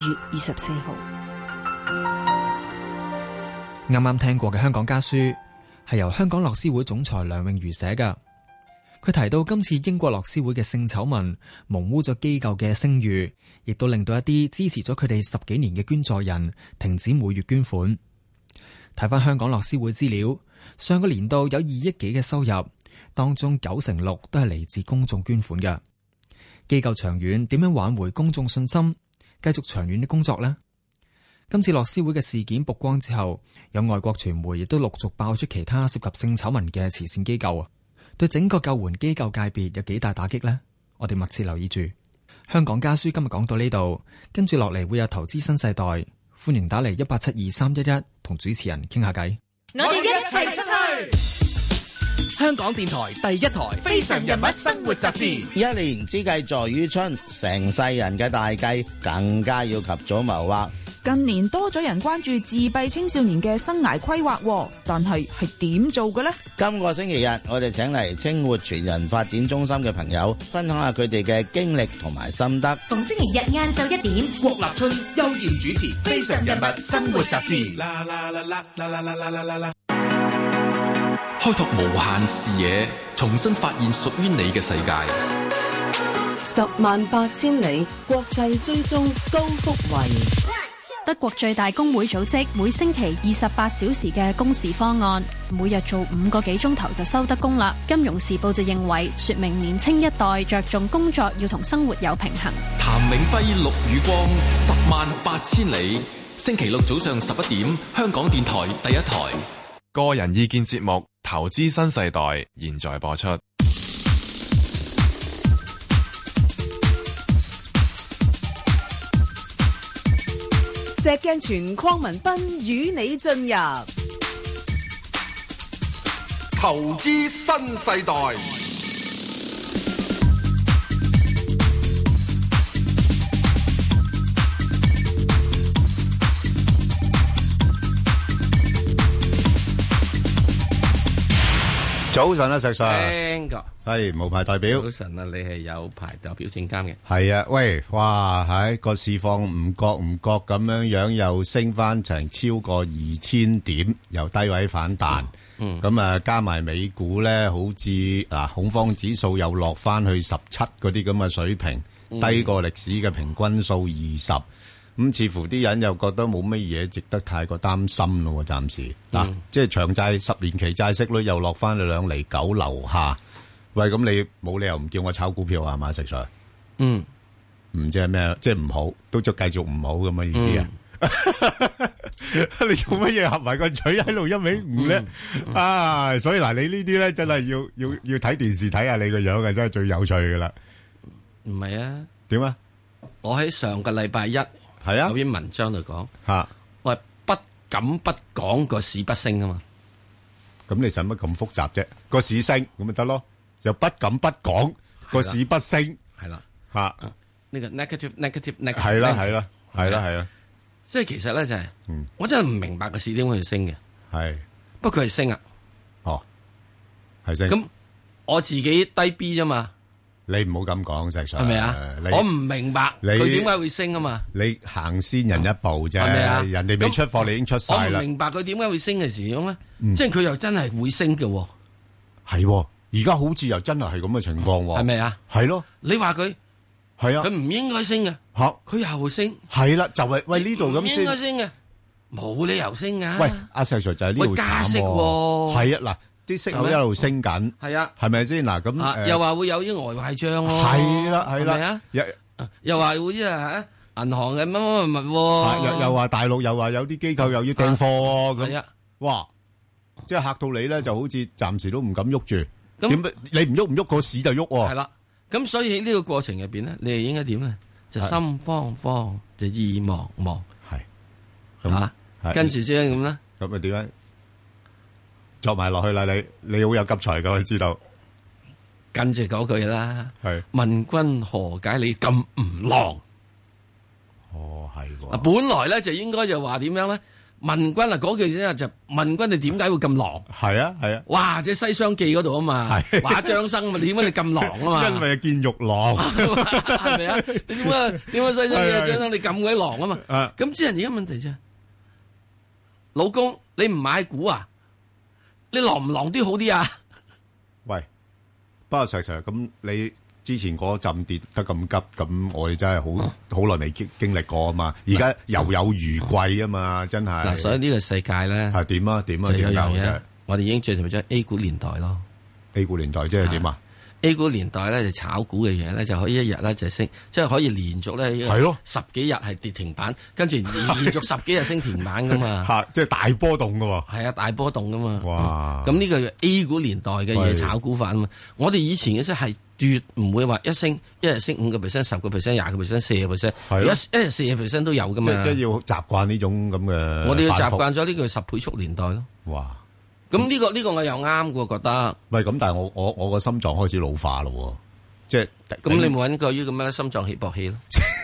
月24號。 啱啱聽過嘅香港家書係由香港樂施會總裁梁詠如寫嘅。佢提到今次英國樂施會嘅性醜聞蒙污咗機構嘅聲譽，亦都令到一啲支持咗佢哋10幾年嘅捐助人停止每月捐款。睇翻香港樂施會資料，上個年度有2億幾嘅收入，當中96%都係嚟自公眾捐款嘅。機構長遠點樣挽回公眾信心，繼續長遠的工作呢？今次樂施會嘅事件曝光之後，有外國傳媒亦都陸續爆出其他涉及性醜聞嘅慈善機構，對整個救援機構界別有幾大打擊呢？我哋密切留意住。香港家書今日講到呢度，跟住落嚟會有投資新世代，歡迎打嚟1872311同主持人傾下偈。 我哋一齊出去。香港電台第一台《非常人物生活雜誌》。 一年之計在於春，成世人嘅大計更加要及早謀劃。 近年多咗人關注自閉青少年嘅生涯規劃，但係點做嘅呢？ 今個星期日，我哋請嚟青活全人發展中心嘅朋友，分享下佢哋嘅經歷同埋心得。 逢星期日晏晝1點，郭立春、邱賢主持《非常人物生活雜誌》。 開拓無限視野，重新發現屬於你嘅世界。 108000里國際追蹤高福慧。 德國最大工會組織每星期28小時嘅工時方案，每日做5個幾鐘頭就收得工啦。金融時報就認為，說明年青一代着重工作要同生活有平衡。 譚永輝、陸宇光，108000里，星期六早上11點，香港電台第一台。 個人意見節目《投資新世代》現在播出。 石鏡泉鄺民彬與你進入投資新世代。 早晨啊，石 Sir， 係無牌代表。 早晨啊，你係有牌代表證監嘅。 係啊，喂，哇，喺個市況唔覺咁樣又升翻成超過2000點，由低位反彈。咁啊，加埋美股咧，好似恐慌指數又落翻去17嗰啲咁嘅水平，低過歷史嘅平均數20。咁似乎啲人又覺得冇乜嘢值得太過擔心咯，暫時即係長債10年期債息率又落翻去2.9厘樓下。喂，咁你冇理由唔叫我炒股票啊？係嘛，石 Sir？唔知係咩，即係唔好，都繼續唔好咁嘅意思啊？你做乜嘢合埋個嘴喺度1.5咧？所以嗱，你呢啲咧真係要睇電視睇下你個樣嘅，真係最有趣噶啦。 唔係啊？ 點啊？ 我喺上個禮拜一。係啊，有篇文章度講我係不敢不講個市不升啊嘛。 咁你使乜咁複雜啫？個市升咁咪得咯，又不敢不講個市不升， 係啦呢個 negative 係啦， 即係其實咧就係，我真係唔明白個市點會升嘅。係，不過佢係升啊。係升。咁我自己低 B 啫嘛。你唔好咁講，石 Sir。係咪啊？我唔明白佢點解會升啊嘛。你行先人一步啫，係咪啊？人哋未出貨，你已經出晒啦。我唔明白佢點解會升嘅時咁咧，即係佢又真係會升嘅。係，而家好似又真係咁嘅情況。係咪啊？係咯。你話佢係啊？佢唔應該升嘅。佢又升。係啦，就係喂呢度咁先。應該升嘅，冇理由升噶。喂，阿石 Sir 就係呢度加息。係啊，嗱。啲息口一路升緊，係啊，係咪先嗱？咁又話會有啲外壞賬咯，係啦，係啦，又話會啲銀行嘅乜乜物，又話大陸又話有啲機構又要訂貨咁，哇！即係嚇到你咧，就好似暫時都唔敢喐住。點解你唔喐唔喐個市就喐？係啦，咁所以喺呢個過程入邊咧，你係應該點咧？就心慌慌，就意茫茫，係嚇，跟住即係咁咧。咁啊點咧？作埋落去啦，你好有急才噶，我知道。跟住嗰句啦，係問君何解你咁唔狼？係喎。本來咧就應該就話點樣咧？ 文君啊，嗰句咧就問君你點解會咁狼？ 係啊係啊， 哇！即係《西廂記》嗰度啊嘛，話張生嘛，點解你咁狼啊嘛？ 因為見玉郎， 係咪啊？點解《西廂記》啊張生你咁鬼狼啊嘛？咁即係而家問題啫，老公你唔買股啊？你狼唔狼啲好啲啊？ 喂，不過實咁你。之前嗰陣跌得咁急，咁我哋真係好耐未經歷過啊嘛！而家猶有餘悸啊嘛，真係。 嗱，所以呢個世界咧係點啊？點啊？ 就有樣嘢，我哋已經進入咗 A 股年代咯。 A 股年代即係點啊 ？A 股年代咧就炒股嘅嘢咧就可以一日咧就升，即係可以連續咧係咯 10幾日係跌停板，跟住連續10幾日升停板噶嘛。 嚇！即係大波動噶喎。 係啊，大波動噶嘛。 哇！ 咁呢個 A 股年代嘅嘢炒股法啊嘛。我哋以前嘅即係。絕唔會話一日升5%、10%、20%、40%，一日40%都有噶嘛。 即係要習慣呢種咁嘅。 我哋要習慣咗呢個10倍速年代咯。 哇！ 咁呢個我又啱嘅，覺得。 喂，咁但係我個心臟開始老化咯，即係。 咁你冇揾過呢個咩心臟起搏器咯？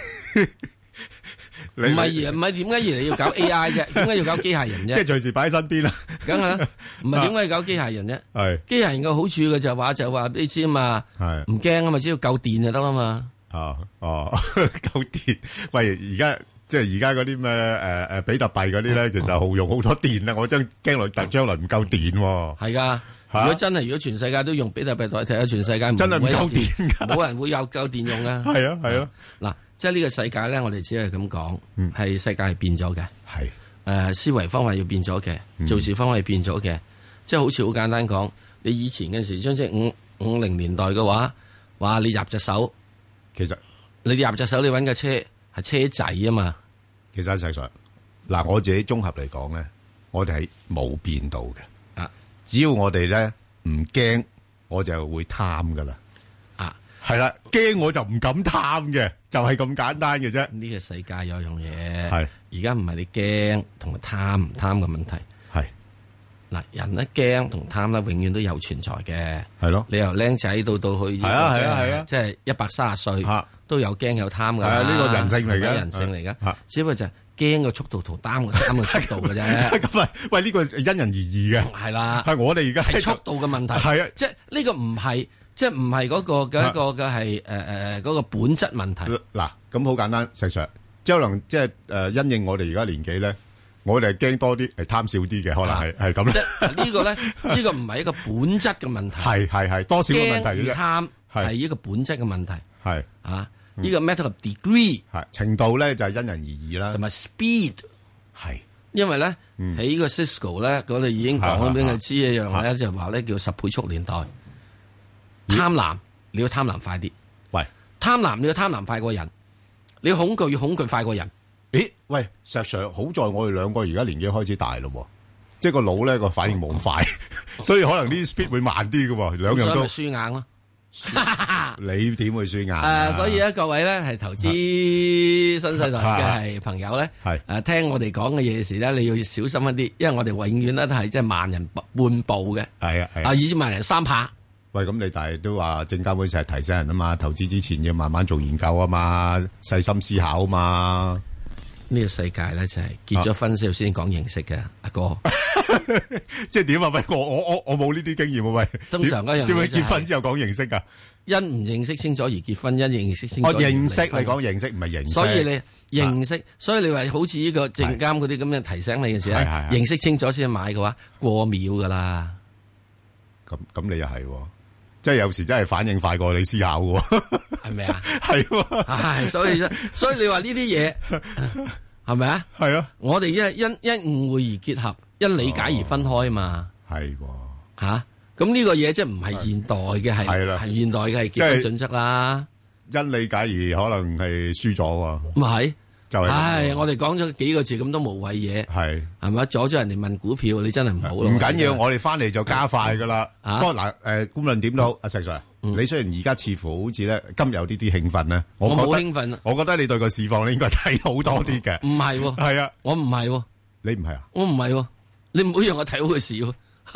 唔係點解而你要搞 AI 啫？點解要搞機械人啫？ 即係隨時擺喺身邊啦。 梗係啦，唔係點解要搞機械人啫？ 係機械人嘅好處嘅就話你知啊嘛，係唔驚啊嘛，只要夠電就得啊嘛。 夠電。喂，而家嗰啲咩比特幣嗰啲咧，其實耗用好多電啦。我真驚來將來唔夠電。 係噶，如果全世界都用比特幣代替，全世界真係唔夠電㗎， 冇人會有夠電用噶。 係啊係啊， 嗱。即係呢個世界咧，我哋只係咁講，係世界係變咗嘅， 係思維方法要變咗嘅，做事方法要變咗嘅。即係好似好簡單講，你以前嘅時，即係50年代嘅話你入隻手， 其實你入隻手，你搵架車係車仔啊嘛。 其實實上，嗱我自己綜合嚟講咧，我哋係冇變到嘅。啊，只要我哋咧唔驚，我就會貪噶啦。係啦，驚我就唔敢貪嘅，就係咁簡單嘅啫。 呢個世界有樣嘢，係而家唔係你驚同埋貪唔貪嘅問題，係嗱人咧驚同貪咧，永遠都有存在嘅，係咯。你由僆仔到去，係啊，即係130歲，都有驚有貪噶。係啊，呢個人性嚟嘅，人性嚟噶。只不過就係驚嘅速度同貪嘅速度嘅啫。咁喂，呢個因人而異嘅， 係啦。 係我哋而家係速度嘅問題，係啊，即係呢個唔係。即係唔係嗰個嘅一個嘅係嗰個本質問題。 嗱，咁好簡單，實際即係可能即係因應我哋而家年紀咧，我哋係驚多啲，係貪少啲嘅，可能係咁。 即係呢個咧，呢個唔係一個本質嘅問題。 係多少嘅問題嘅啫。 貪係一個本質嘅問題。 係啊，呢個 matter of degree 係程度咧就係因人而異啦。 同埋 speed 係， 因為咧喺呢個 Cisco 咧，我哋已經講咗俾佢知一樣咧，就話咧叫10倍速年代。貪婪，你要貪婪快啲。 喂， 貪婪你要貪婪快過人，你恐懼要恐懼快過人。 咦？喂，石 Sir，好在我哋兩個而家年紀開始大咯，即係個腦咧個反應冇咁快，所以可能呢啲 speed 會慢啲嘅。兩樣都輸硬咯。 你點會輸硬？ 所以咧，各位咧係投資新世代嘅係朋友咧，係聽我哋講嘅嘢時咧，你要小心一啲，因為我哋永遠咧都係即係慢人半步嘅。係啊，以前慢人3拍。 喂，咁你但係都話證監會成日提醒人啊嘛，投資之前要慢慢做研究啊嘛，細心思考啊嘛。 呢個世界咧就係結咗婚之後先講認識嘅，阿哥。 即係點啊？喂，我冇呢啲經驗啊！喂， 通常嗰樣嘢點會結婚之後講認識噶？ 因唔認識清楚而結婚，因認識清楚。 認識你講認識唔係認識。 所以你認識，所以你話好似呢個證監嗰啲咁樣提醒你嘅時候，認識清楚先買嘅話，過秒噶啦。 咁你又係。即係有時真係反應快過你思考嘅， 係咪啊？ 係， 所以你話呢啲嘢係咪啊？ 係啊， 我哋因誤會而結合，因理解而分開嘛。 係吓，咁呢個嘢即係唔係現代嘅，係現代嘅係結婚準則啦。 因理解而可能係輸咗喎。 唔係。 就係， 我哋講咗幾個字咁都無謂嘢，係咪阻咗人哋問股票？你真係唔好咯。 唔緊要，我哋翻嚟就加快噶啦。不過嗱，無論點都好，阿石 Sir，你雖然而家似乎好似咧今日有啲興奮咧， 我冇興奮。 我覺得你對個市況咧應該睇好多啲嘅。 唔係，係啊，我唔係， 你唔係啊？ 我唔係，你唔好讓我睇好個市。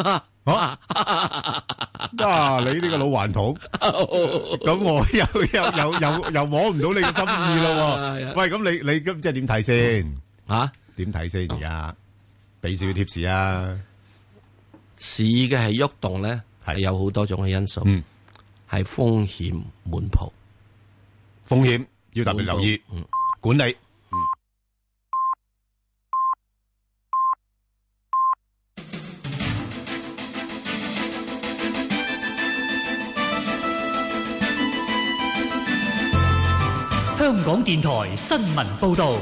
你呢個老頑童，咁我又摸唔到你嘅心意咯。喂，咁你咁即係點睇先？點睇先而家？ 俾少貼士啊！ 市嘅係喐動咧，係有好多種嘅因素，係風險滿鋪， 風險要特別留意，管理。 香港電台新聞報道。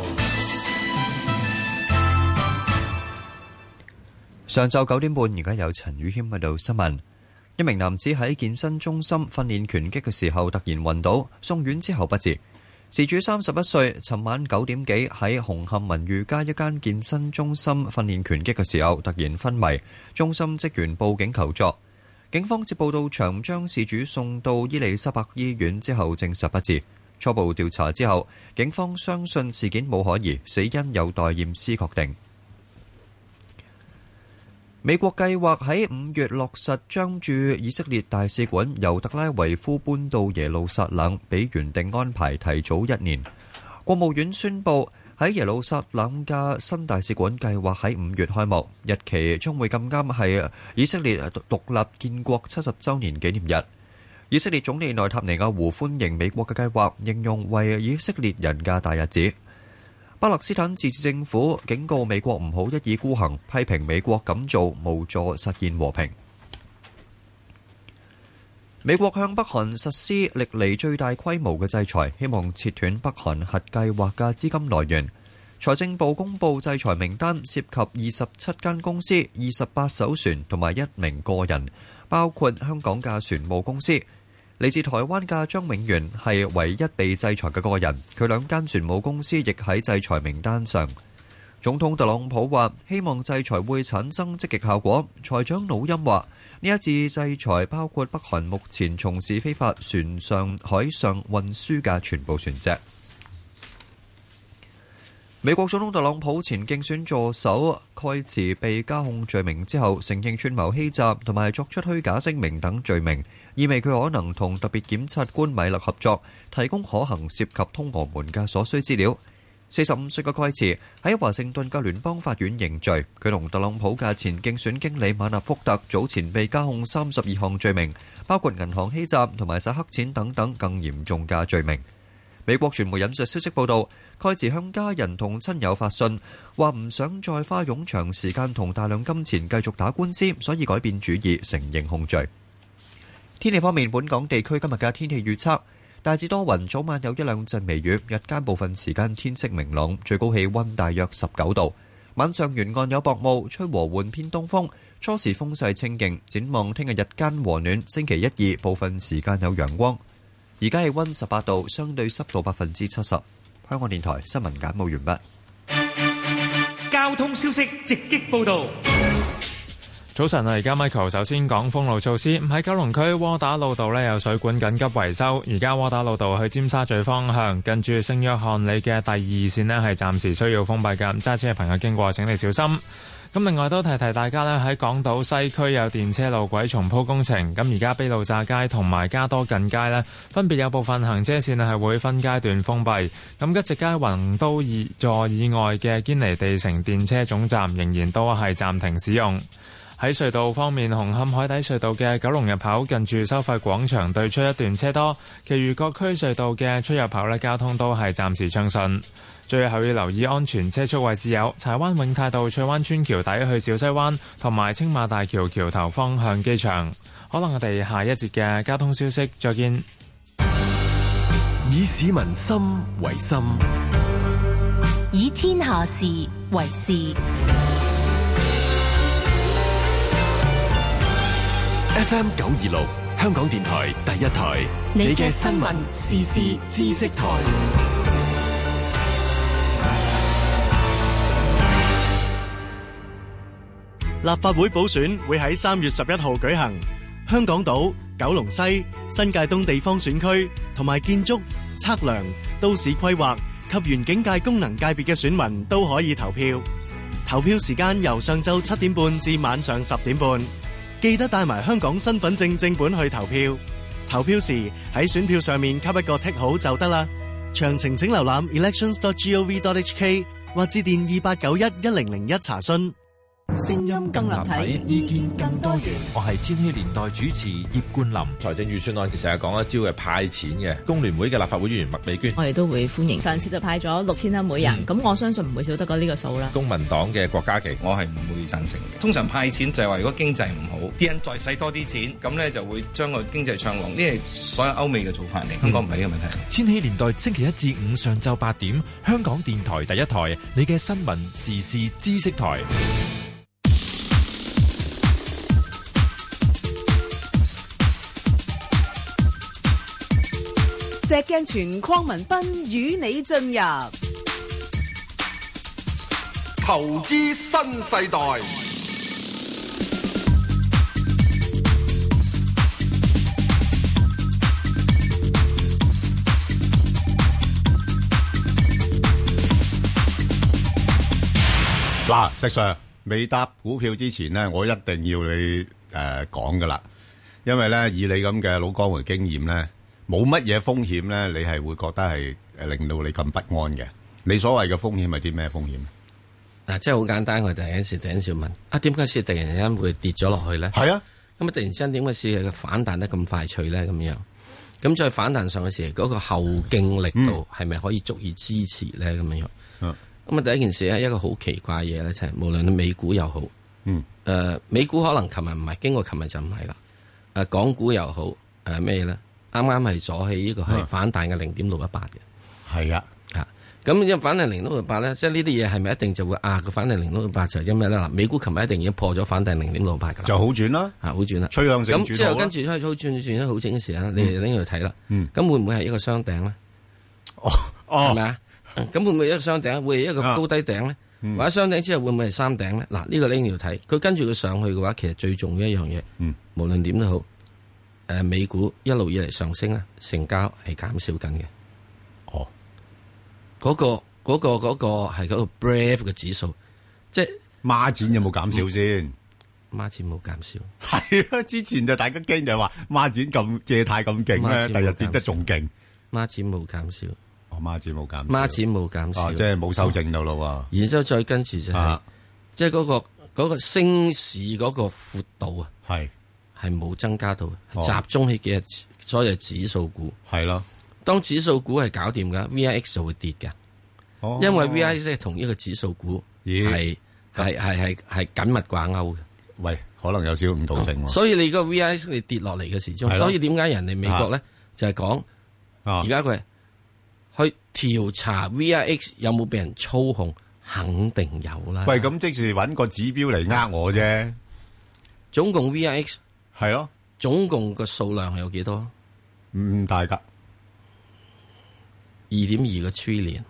上晝9點半，而家有陳宇謙喺度新聞。一名男子喺健身中心訓練拳擊嘅時候突然暈倒，送院之後不治。事主31歲，尋晚9點幾喺紅磡文裕街一間健身中心訓練拳擊嘅時候突然昏迷，中心職員報警求助。警方接報到場，將事主送到伊利沙伯醫院之後證實不治。初步調查之後，警方相信事件冇可疑，死因有待驗屍確定。美國計劃喺5月落實將駐以色列大使館由特拉維夫搬到耶路撒冷，比原定安排提早1年。國務院宣布喺耶路撒冷嘅新大使館計劃喺5月開幕，日期將會咁啱係以色列獨立建國70週年紀念日。以色列總理內塔尼亞胡歡迎美國嘅計劃，形容為以色列人嘅大日子。巴勒斯坦自治政府警告美國唔好一意孤行，批評美國咁做無助實現和平。美國向北韓實施歷嚟最大規模嘅制裁，希望切斷北韓核計劃嘅資金來源。財政部公布制裁名單，涉及27間公司、28艘船同埋1名個人，包括香港嘅船務公司。嚟自台灣嘅張永元係唯一被制裁嘅個人，佢2間船務公司亦喺制裁名單上。總統特朗普話希望制裁會產生積極效果。財長魯欽話呢一次制裁包括北韓目前從事非法船上海上運輸嘅全部船隻。美國總統特朗普前競選助手蓋茨被加控罪名之後，承認串謀欺詐同埋作出虛假聲明等罪名，意味佢可能同特別檢察官米勒合作，提供可行涉及通俄門嘅所需資料。45歲嘅蓋茨喺華盛頓嘅聯邦法院認罪，佢同特朗普嘅前競選經理馬納福特早前被加控32項罪名，包括銀行欺詐同埋洗黑錢等等更嚴重嘅罪名。美國傳媒引述消息報道，蓋茨向家人同親友發信，話唔想再花冗長時間同大量金錢繼續打官司，所以改變主意，承認控罪。天氣方面，本港地區今日嘅天氣預測大致多雲，早晚有一兩陣微雨，日間部分時間天色明朗，最高氣溫大約19度。晚上沿岸有薄霧，吹和緩偏東風，初時風勢清勁。展望聽日日間和暖，星期1、2部分時間有陽光。而家氣溫18度，相對濕度70%。香港電台新聞簡報完畢。 交通消息直擊報道。 早晨啊，而家 Michael 首先講封路措施。喺九龍區窩打老道呢有水管緊急維修，而家窩打老道去尖沙咀方向，近住聖約翰里嘅第2線呢係暫時需要封閉㗎，揸車嘅朋友經過請你小心。咁另外都提提大家咧，喺港島西區有電車路軌重鋪工程，咁而家卑路乍街同埋加多近街咧，分別有部分行車線係會分階段封閉。咁吉直街宏都2座以外嘅堅尼地城電車總站仍然都係暫停使用。喺隧道方面，紅磡海底隧道嘅九龍入口近住收費廣場對出一段車多，其餘各區隧道嘅出入口咧，交通都係暫時暢順。最後要留意安全車速位置有柴灣永泰道翠灣村橋底去小西灣，同埋青馬大橋橋頭方向機場。可能我哋下一節嘅交通消息再見。 以市民心為心， 以天下事為事。 FM 926香港電台第一台，你嘅新聞時事知識台。 立法會補選會喺3月11號舉行，香港島、九龍西、新界東地方選區同埋建築、測量、都市規劃及園境界功能界別嘅選民都可以投票。投票時間由上晝7點半至晚上10點半。記得帶埋香港身份證正本去投票。投票時喺選票上面給一個剔號就得啦。詳情請瀏覽 elections.gov.hk 或致電28911001查詢。 聲音更立體，意見更多元。 我係千禧年代主持葉冠霖。 財政預算案其實係講一招嘅派錢嘅。工聯會嘅立法會議員麥美娟， 我哋都會歡迎。上次就派咗6000蚊每人，咁我相信唔會少得過呢個數啦。 公民黨嘅郭家麒， 我係唔會贊成嘅。通常派錢就係話如果經濟唔好，啲人再使多啲錢，咁咧就會將個經濟暢旺。呢係所有歐美嘅做法嚟，香港唔係呢個問題。 千禧年代星期一至五上晝8點，香港電台第一台，你嘅新聞時事知識台。 石鏡泉鄺民彬與你進入投資新世代。 嗱，石 Sir 未答股票之前咧，我一定要你講噶啦，因為咧以你咁嘅老江湖經驗咧。冇乜嘢風險咧，你係會覺得係令到你咁不安嘅。你所謂嘅風險係啲咩風險？ 嗱，即係好簡單，我第一時問點解市突然間會跌咗落去咧？ 係啊， 咁啊突然之間點解市嘅反彈得咁快脆咧？咁樣咁再反彈上嘅時候，嗰個後勁力度係咪可以足以支持咧？咁樣咁啊第一件事咧，一個好奇怪嘢咧，就係無論你美股又好，美股可能琴日唔係，經過琴日就唔係啦。港股又好，咩咧？啱啱係阻起呢個係反彈嘅0.618嘅， 係啊， 咁因為反彈0.618咧，即係呢啲嘢係咪一定就會個反彈0.618就係因為咧嗱，美股琴日一定已經破咗反彈0.618噶啦， 就好轉啦， 好轉啦， 趨向性轉好啦。 咁之後跟住開始好轉得好整嘅時候咧，你哋拎去睇啦，咁會唔會係一個雙頂咧？係咪啊？咁會唔會一個雙頂？會係一個高低頂咧？或者雙頂之後會唔會係三頂咧？嗱，呢個拎要睇，佢跟住佢上去嘅話，其實最重要一樣嘢，無論點都好。美股一路以嚟上升咧，成交係減少緊嘅。嗰個係嗰個 Brave 嘅指數，即係孖展有冇減少先？ 孖展冇減少。 係啊，之前就大家驚就係話孖展咁借貸咁勁咧，第日跌得仲勁。 孖展冇減少。 孖展冇減少。 孖展冇減少。 即係冇修正到咯。 然之後再跟住就係，即係嗰個升市嗰個闊度啊。係冇增加到，集中喺幾日所有指數股係咯。 當指數股係搞掂噶 ，VIX 就會跌嘅，因為 VIX 係同呢個指數股係緊密掛鈎嘅。 喂，可能有少少誤導性。 所以你個 VIX 你跌落嚟嘅時鐘，所以點解人哋美國咧就係講而家佢去調查 VIX 有冇俾人操控，肯定有啦。 喂，咁即是揾個指標嚟呃我啫。 總共 VIX 係咯， 總共個數量係有幾多？ 唔大噶 ，2.2個 trillion。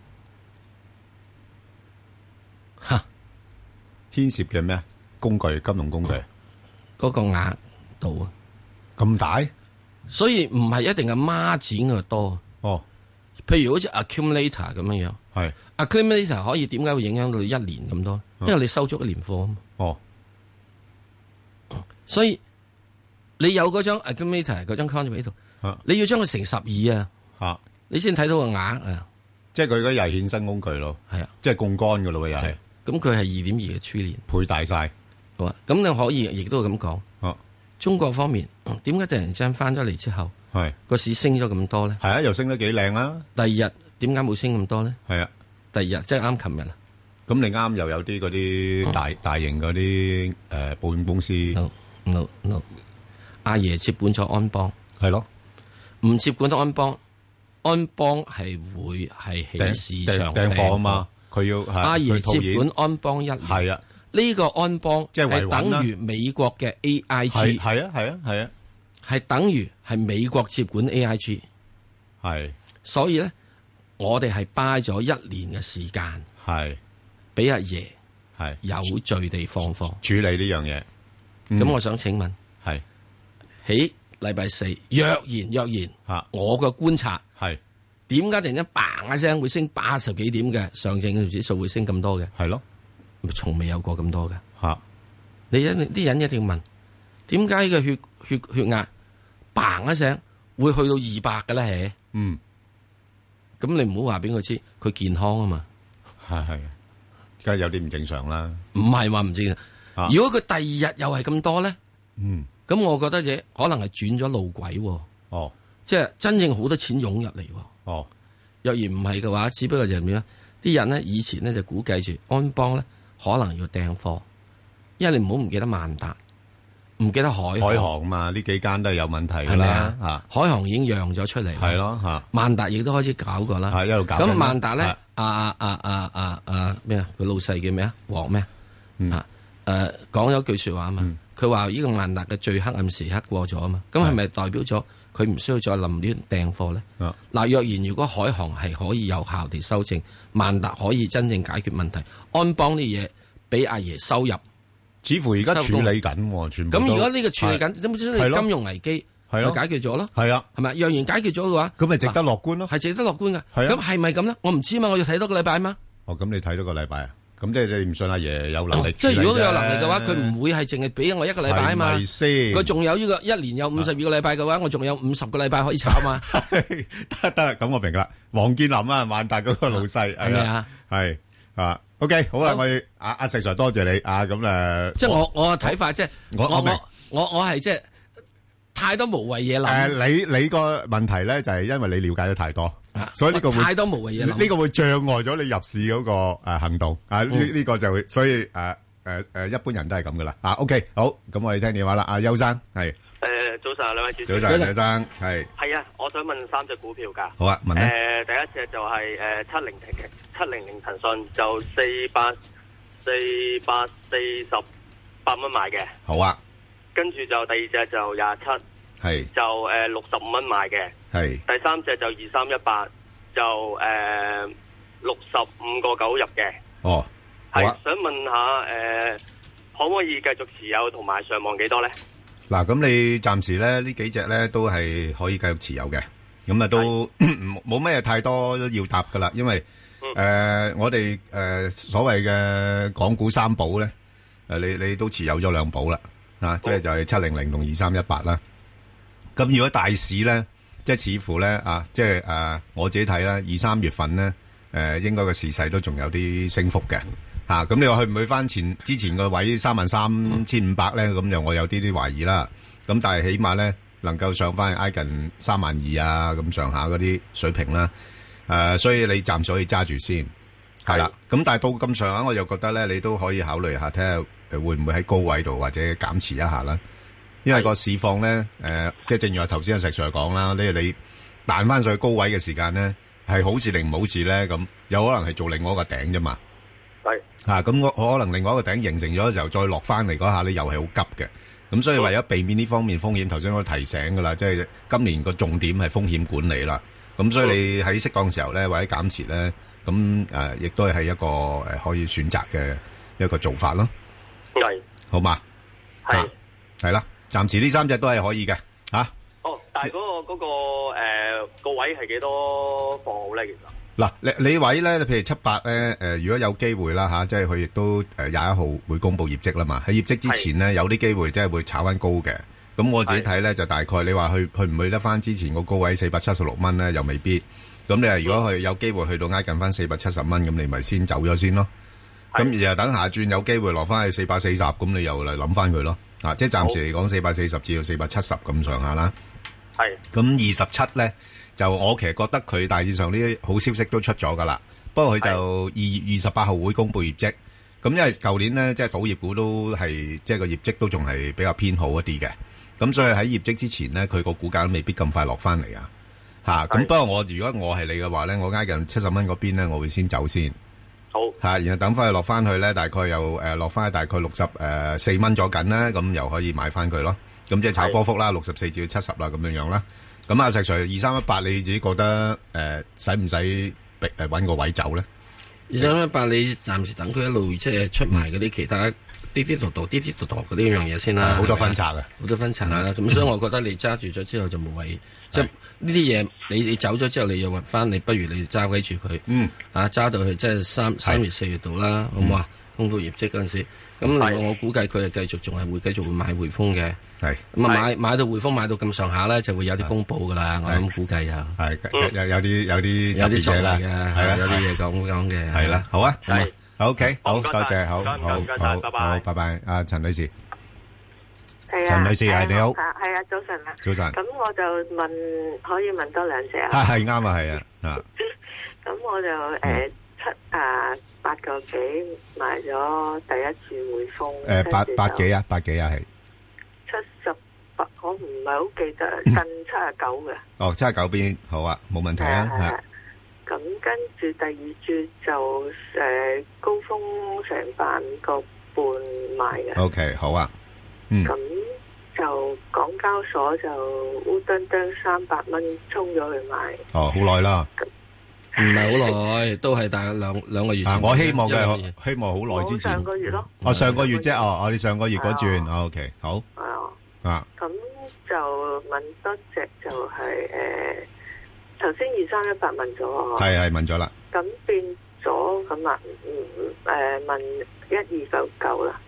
吓， 牽涉嘅咩工具？金融工具嗰個額度啊， 咁大， 所以唔係一定係孖展嘅多。譬如好似 accumulator 咁樣樣， 係 accumulator 可以點解會影響到1年咁多？因為你收足1年貨啊嘛。所以你有嗰張 accumulator 嗰張 contract 喺度，你要將佢乘12啊，你先睇到個額啊。 即係佢嗰又係衍生工具咯， 係啊， 即係槓桿噶咯，又係。 咁佢係2.2嘅 trillion， 倍大晒。 好啊，咁你可以亦都係咁講。中國方面點解突然之間翻咗嚟之後，個市升咗咁多咧？ 係啊，又升得幾靚啊！ 第二日點解冇升咁多咧？ 係啊， 第二日即係啱琴日啊。 咁你啱又有啲嗰啲大型嗰啲保險公司。 No， 阿爺接管咗安邦， 係咯， 唔接管咗安邦，安邦係會係起市場訂貨啊嘛，佢要阿爺接管安邦1年， 係啊， 呢個安邦即係等於美國嘅 AIG， 係啊， 係等於係美國接管 AIG， 係， 所以咧，我哋係 buy 咗1年嘅時間， 係俾阿爺係有序地放貨處理呢樣嘢。 咁我想請問， 係喺禮拜4，若然，我嘅觀察係點解突然間嘭一聲會升80幾點嘅上證指數會升咁多嘅？ 係咯， 從未有過咁多嘅。 你啲人一定要問，點解嘅血壓嘭一聲會去到200嘅咧？咁你唔好話俾佢知，佢健康啊嘛。 係，梗係有啲唔正常啦。 唔係話唔正常。 如果佢第二日又係咁多咧，咁我覺得嘢可能係轉咗路軌。 哦， 即係真正好多錢湧入嚟。 哦， 若然唔係嘅話，只不過就係點咧？啲人咧以前咧就估計住安邦咧可能要訂貨，因為你唔好唔記得萬達，唔記得海航嘛，呢幾間都係有問題噶啦。 海航已經讓咗出嚟， 係咯吓。萬達亦都開始搞過啦， 一路搞。 咁萬達咧，咩啊？佢老細叫咩啊？黃咩講咗句說話啊嘛，佢話呢個萬達嘅最黑暗時刻過咗啊嘛，咁係咪代表咗佢唔需要再臨亂訂貨咧？嗱，若然如果海航係可以有效地修正，萬達可以真正解決問題，安邦啲嘢俾阿爺收入， 似乎而家處理緊，全部都。 咁如果呢個處理緊，咁即係金融危機咪解決咗咯？ 係啊， 係咪？若然解決咗嘅話， 咁咪值得樂觀咯？ 係值得樂觀嘅。咁係咪咁咧？我唔知嘛，我要睇多個禮拜嘛。 哦，咁你睇多個禮拜啊？咁即係你唔信阿爺有能力？ 即係如果佢有能力嘅話，佢唔會係淨係俾我一個禮拜啊嘛。 係咪先？ 佢仲有呢個一年有52個禮拜嘅話，我仲有50個禮拜可以炒嘛。 得啦，咁我明啦。黃建林啊，萬達嗰個老細係咪啊？ 係啊。OK， 好啊，我阿石 Sir 多謝你啊。咁誒， 即係我嘅睇法，即係我係即係太多無謂嘢諗。 你個問題咧就係因為你了解得太多。所以呢個會太多無謂嘢， 呢個會障礙咗你入市嗰個行動啊！呢個就會，所以一般人都係咁噶啦。OK， 好，咁我哋聽電話啦。阿邱生係早晨，兩位主持。 早晨，邱生係啊，我想問3隻股票噶。 好啊，問咧。 第一隻就係700騰訊，就448蚊買嘅。 好啊。 跟住就第二隻就27。 係就65蚊買嘅， 係第三隻就2318，就65個9入嘅。 哦， 係想問下可唔可以繼續持有同埋上望幾多咧？ 嗱，咁你暫時咧呢幾隻咧都係可以繼續持有嘅，咁啊都冇咩太多要答噶啦，因為我哋所謂嘅港股三寶咧，你都持有咗兩寶啦，即係就係700同2318啦。咁如果大市咧，即係似乎咧即係我自己睇啦，2、3月份咧，應該個市勢都仲有啲升幅嘅嚇。咁你話去唔去翻之前個位33,500咧？咁就我有啲懷疑啦。咁但係起碼咧能夠上翻挨近32,000啊咁上下嗰啲水平啦。所以你暫時可以揸住先係啦。咁但係到咁上下，我就覺得咧，你都可以考慮下睇下會唔會喺高位度或者減持一下啦。因為個市況咧，即係正如我頭先阿石 Sir 講啦，你彈翻上去高位嘅時間咧，係好事定唔好事咧？咁有可能係做另外一個頂啫嘛。 係咁我可能另外一個頂形成咗嘅時候，再落翻嚟嗰下咧，又係好急嘅。咁所以為咗避免呢方面風險，頭先我都提醒噶啦，即係今年個重點係風險管理啦。咁所以你喺適當時候咧，或者減持咧，咁亦都係一個可以選擇嘅一個做法咯。 係好嘛？係啦。暫時呢3隻都係可以嘅， 但係嗰個位係幾多放好咧？其實嗱，你位咧，譬如78咧，如果有機會啦即係佢亦都21號會公布業績啦嘛。喺業績之前咧，有啲機會即係會炒翻高嘅。咁我自己睇咧，就大概你話去唔去得翻之前個高位476蚊咧，又未必。咁你話如果佢有機會去到挨近翻470蚊，咁你咪先走咗先咯。咁然後等下轉有機會落翻去440，咁你又嚟諗翻佢咯。即係暫時嚟講440至到470咁上下啦。 係。 咁27咧，就我其實覺得佢大致上呢啲好消息都出咗噶啦。不過佢就2月28號會公布業績。咁因為舊年咧，即係賭業股都係即係個業績都仲係比較偏好一啲嘅。咁所以喺業績之前咧，佢個股價都未必咁快落翻嚟啊。咁不過如果我係你嘅話咧，我挨近70蚊嗰邊咧，我會先走先。 好然後等翻佢落翻去咧，大概又落翻去大概64蚊左緊啦，咁又可以買翻佢咯。咁即係炒波幅啦，64至到70啦，咁樣樣啦。咁阿石 Sir 2318，你自己覺得使唔使揾個位走咧 ？2318你暫時等佢一路即係出埋嗰啲其他啲度嗰啲樣嘢先啦。 好多分拆啊， 好多分拆啦。咁所以我覺得你揸住咗之後就冇謂。即係呢啲嘢，你走咗之後，你又揾翻，你不如你揸鬼住佢。揸到去即係3月4月度啦，好唔好啊？公布業績嗰陣時，咁我估計佢係繼續會繼續會買匯豐嘅。係咁啊，買到匯豐買到咁上下咧，就會有啲公佈噶啦。我咁估計啊。係有啲嘢啦，係啦，有啲嘢講嘅。係啦，好啊。 OK， 好，多謝，好，拜拜，阿陳女士。陳女士係你好， 係啊，早晨啊， 早晨。 咁我就可以問多兩隻啊？ 係啱啊，係啊， 咁我就8個幾買咗第一注匯豐， 八幾啊，係 78，我唔係好記得，近79嘅。 哦，79邊好啊，冇問題啊，係。 咁跟住第二注就高峰成8個半買嘅。 OK， 好啊。 咁就港交所就烏登登300蚊衝咗去買。 哦，好耐啦。 唔係好耐，都係大概兩個月前。 我希望嘅，希望好耐之前。 上個月咯。 上個月啫，我哋上個月嗰轉。OK， 好。 咁就問多隻就係頭先2318問咗。係問咗啦。 咁變咗咁啊？問1299啦。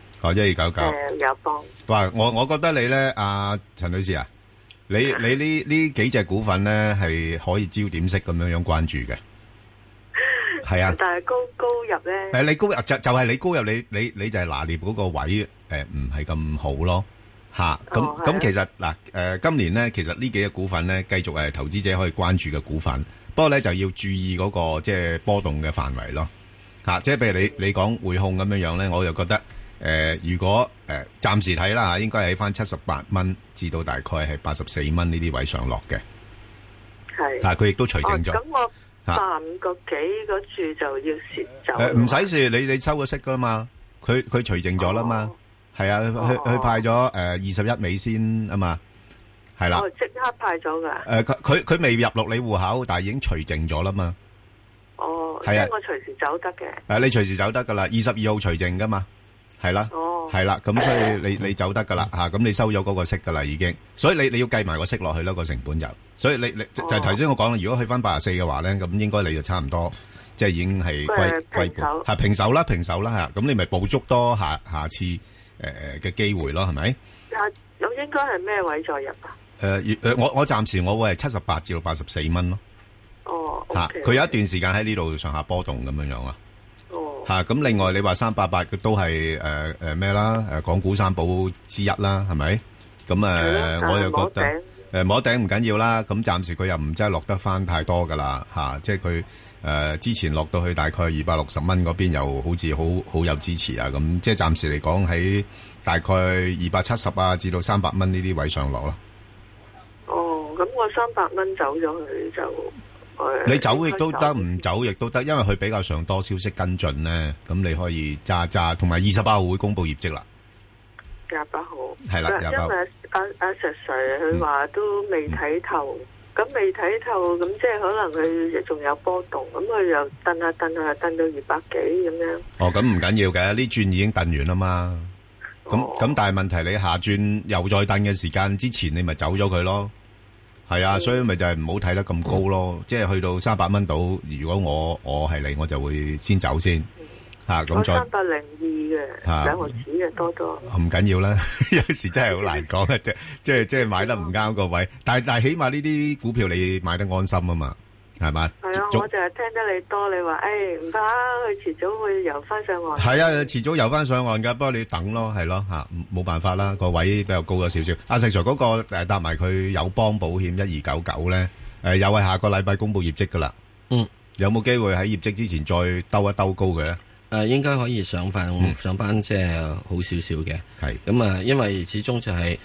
1299。 友邦。 哇！我覺得你咧，阿陳女士啊，你呢幾隻股份咧係可以焦點式咁樣關注嘅。係啊。 但係高入咧。 你高入就係你高入，你就係拿捏嗰個位唔係咁好咯嚇。咁其實嗱今年咧，其實呢幾隻股份咧繼續係投資者可以關注嘅股份，不過咧就要注意嗰個即係波動嘅範圍咯嚇。即係譬如你講匯控咁樣咧，我就覺得。如果暫時睇啦嚇，應該喺翻78蚊至到大概係84蚊呢啲位上落嘅。係。但係佢亦都除淨咗。 咁我85個幾嗰注就要蝕走。 唔使蝕，你收咗息噶嘛？佢除淨咗啦嘛。係啊，佢派咗21美先啊嘛。係啦。 即刻派咗㗎。 佢未入落你戶口，但係已經除淨咗啦嘛。 哦。係啊。即係我隨時走得嘅。 你隨時走得㗎啦，22號除淨㗎嘛。係啦，係啦，咁所以你走得噶啦吓，咁你收咗嗰個息噶啦已經，所以你要計埋個息落去啦個成本就，所以你就係頭先我講啦，如果去翻84嘅話咧，咁應該你就差唔多，即係已經係歸盤，係平手啦吓，咁你咪捕捉多下次嘅機會咯，係咪？ 咁應該係咩位再入啊？ 我暫時我會係78至到84蚊咯。哦，吓，佢有一段時間喺呢度上下波動咁樣樣啊。吓，咁另外你話388嘅都係咩啦？港股三寶之一啦，係咪？咁我又覺得摸頂唔緊要啦。咁暫時佢又唔真係落得翻太多噶啦，吓，即係佢之前落到去大概260蚊嗰邊，又好似好有支持啊。咁即係暫時嚟講喺大概270啊至到300蚊呢啲位上落啦。 哦，咁我300蚊走咗去就。 你走亦都得，唔走亦都得，因為佢比較上多消息跟進咧，咁你可以揸，同埋28號會公布業績啦。 28號係啦，因為阿石 Sir 佢話都未睇透，咁未睇透，咁即係可能佢仲有波動，咁佢又蹬下蹬到200幾咁樣。哦， 咁唔緊要嘅，呢轉已經蹬完啦嘛。咁但係問題你下轉又再蹬嘅時間之前，你咪走咗佢咯。係啊，所以咪就係唔好睇得咁高咯，即係去到300蚊度。如果我係你，我就會先走先吓，咁再。302嘅兩毫子嘅多多。唔緊要啦，有時真係好難講嘅，即係買得唔啱個位，但係起碼呢啲股票你買得安心啊嘛，係嘛？ 係啊，我就係聽得你多，你話唔怕，佢遲早會游翻上岸。 係啊，遲早游翻上岸噶，不過你等咯，係咯吓，冇辦法啦，個位比較高咗少少。阿石 Sir 嗰個搭埋佢友邦保險1299咧，又係下個禮拜公布業績噶啦。有冇機會喺業績之前再兜一兜高嘅咧？ 應該可以上翻即係好少少嘅。係咁啊，因為始終就係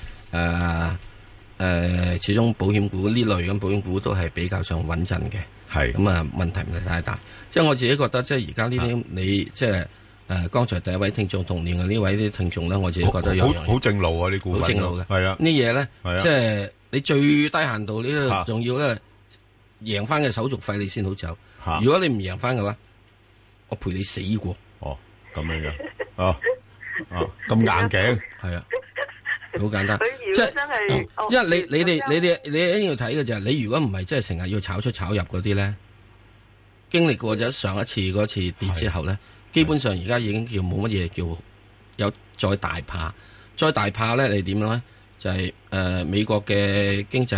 始終保險股呢類咁保險股都係比較上穩陣嘅。係咁啊，問題唔係太大。即係我自己覺得，即係而家呢啲你即係剛才第一位聽眾同年嘅呢位啲聽眾咧，我自己覺得有樣好正路啊！呢股份好正路嘅，係啊，呢嘢咧，即係你最低限度呢個仲要咧贏翻嘅手續費你先好走。如果你唔贏翻嘅話，我陪你死過。哦，咁樣嘅，咁硬頸，係啊。好簡單，即係，因為你哋一定要睇嘅就係，你如果唔係即係成日要炒出炒入嗰啲咧，經歷過咗上一次嗰次跌之後咧，基本上而家已經叫冇乜嘢叫有再大怕，再大怕咧，你點樣咧？就係美國嘅經濟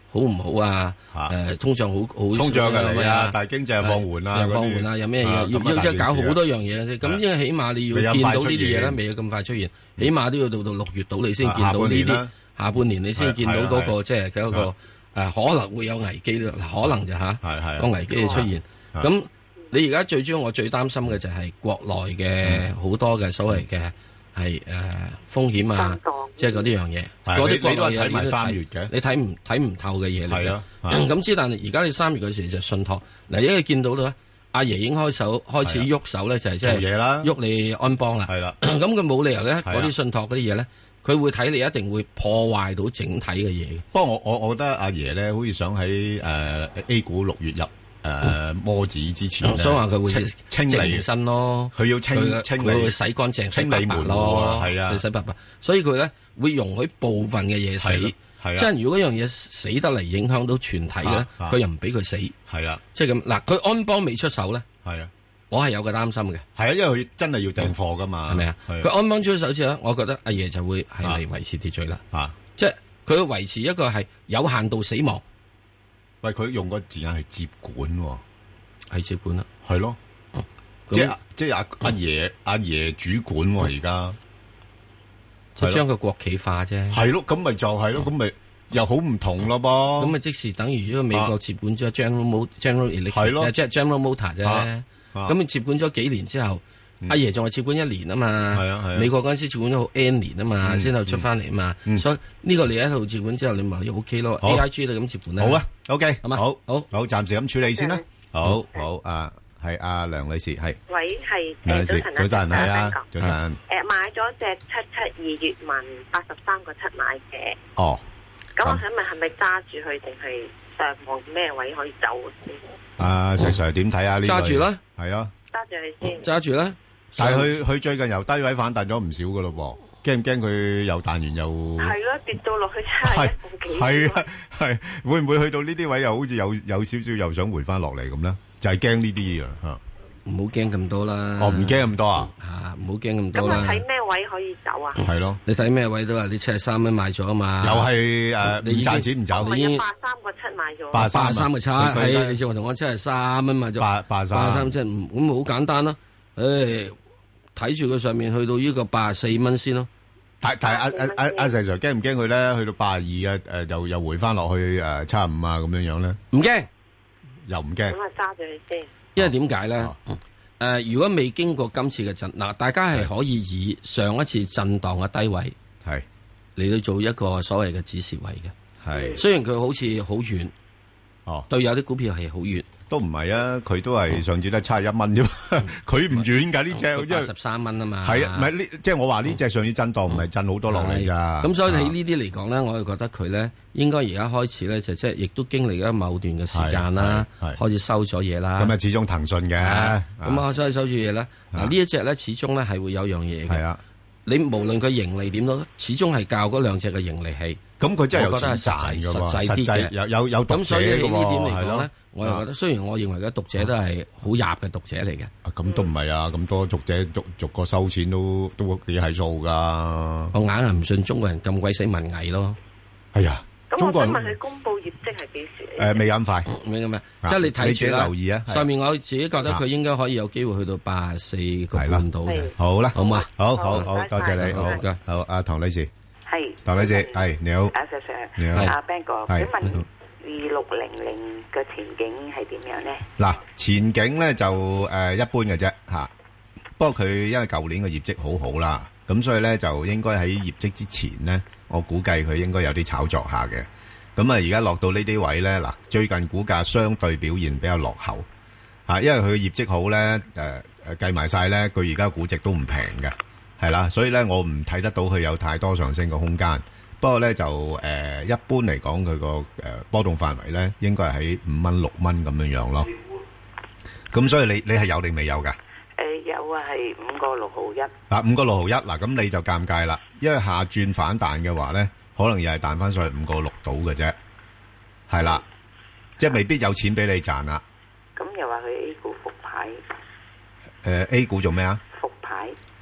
好唔好啊？通脹好通脹嘅嚟啊，但係經濟又放緩啦， 又放緩啦，有咩嘢要搞好多樣嘢先。咁因為起碼你要見到呢啲嘢咧，未有咁快出現，起碼都要到6月度你先見到呢啲。下半年你先見到嗰個即係嗰個可能會有危機咯，可能就個危機嘅出現。咁你而家最主要我最擔心嘅就係國內嘅好多嘅所謂嘅係風險啊，即係嗰啲樣嘢。嗰啲國內嘢你都睇3月嘅，你睇唔透嘅嘢嚟嘅。咁之但係而家你3月嗰時就信託嗱，因為見到咧，阿爺已經開始喐手咧，就係即係喐你安邦啦。係啦，咁佢冇理由咧，嗰啲信託嗰啲嘢咧，佢會睇你一定會破壞到整體嘅嘢。不過我覺得阿爺咧，好似想喺A 股6月入摩指之前， 所以話佢會清理身咯。 佢要清理， 佢會洗乾淨、洗白白咯，係啊，洗白白。所以佢咧會容許部分嘅嘢死，即係如果樣嘢死得嚟影響到全體嘅，佢又唔俾佢死。係啊，即係咁嗱，佢安邦未出手咧，係啊，我係有個擔心嘅。係啊，因為佢真係要訂貨噶嘛，係咪啊？佢安邦出手之後咧，我覺得阿爺就會係嚟維持秩序啦。即係佢要維持一個係有限度死亡。喂，佢用個字眼係接管，係接管啦，係咯，即係阿爺主管而家，即係將個國企化啫，係咯，咁咪就係咯，咁咪又好唔同咯噃，咁咪即時等於咗美國接管咗 General Electric，即係 General Motor 啫，咁你接管咗幾年之後，阿爺仲係接管1年啊嘛，係啊係啊，美國嗰陣時接管咗好 N 年啊嘛，先後出翻嚟啊嘛，所以呢個你喺度接管之後，你咪又 OK 咯 ，AIG 都咁接管咧，好啊 ，OK，好，暫時咁處理先啦，好，係阿梁女士，係， 喂，係， 早晨，係啊，早晨， 買咗隻772粵文83個7買嘅， 哦， 咁我想問係咪揸住佢定係上望咩位可以走先？ 石 Sir 點睇啊？呢揸住啦， 係啊， 揸住佢先， 揸住啦。 但係佢最近由低位反彈咗唔少噶咯噃，驚唔驚佢又彈完又係咯，跌到落去71個幾？ 係啊，係會唔會去到呢啲位又好似有少少又想回翻落嚟咁咧？就係驚呢啲嘢吓，唔好驚咁多啦。哦，唔驚咁多啊？吓，唔好驚咁多啦。 咁我睇咩位可以走啊？ 係咯， 你睇咩位都話你73蚊買咗啊嘛？又係你賺錢唔走？ 我83個7買咗。 83個7，係你先話同我73蚊買咗。83即係咁好簡單咯。睇住佢上面去到呢個84蚊先咯。但係阿石 Sir 驚唔驚佢咧？去到82啊，又回翻落去75啊咁樣樣咧？唔驚，又唔驚。咁啊揸住佢先。因為點解咧？如果未經過今次嘅震，嗱，大家係可以以上一次震盪嘅低位係嚟到做一個所謂嘅指示位嘅。係雖然佢好似好遠，對有啲股票係好遠。都唔係啊，佢都係上次都係71蚊啫嘛，佢唔遠㗎呢隻，因為13蚊啊嘛。係啊，唔係呢，即係我話呢隻上次震盪唔係震好多落嚟咋。咁所以喺呢啲嚟講咧，我就覺得佢咧應該而家開始咧就即係亦都經歷咗某段嘅時間啦，開始收咗嘢啦。咁啊，始終騰訊嘅，咁啊，所以收住嘢啦。嗱呢一隻咧，始終咧係會有樣嘢嘅。係啊，你無論佢盈利點都，始終係較嗰兩隻嘅盈利係。咁佢真係有錢賺㗎喎，實際有讀者㗎喎。咁所以喺呢點嚟講咧，我又覺得雖然我認為嘅讀者都係好入嘅讀者嚟嘅。咁都唔係啊，咁多讀者逐個收錢都幾係數㗎。我硬係唔信中國人咁鬼死文藝咯。係啊，中國人。咁我想問佢公佈業績係幾時？未咁快，未咁咩？即係你睇住啦。留意啊！上面我自己覺得佢應該可以有機會去到84個半度嘅。好啦，好嘛，好，多謝你，好，阿唐女士。係，唐女士，係你好，阿 Sir，你好，阿 Ben 哥，請問2600嘅前景係點樣咧？嗱，前景咧就一般嘅啫吓，不過佢因為舊年嘅業績好好啦，咁所以咧就應該喺業績之前咧，我估計佢應該有啲炒作下嘅。咁啊，而家落到呢啲位咧，嗱，最近股價相對表現比較落後吓，因為佢嘅業績好咧，計埋晒咧，佢而家估值都唔平嘅。係啦，所以咧我唔睇得到佢有太多上升嘅空間。不過咧就一般嚟講，佢個波動範圍咧應該係喺5蚊6蚊咁樣樣咯。咁所以你係有定未有噶？有啊，係5個6毫1。5個6毫1，嗱咁你就尷尬啦，因為下轉反彈嘅話咧，可能又係彈翻上去5個6度嘅啫。係啦，即係未必有錢俾你賺啦。咁又話佢 A 股復牌？A 股做咩啊？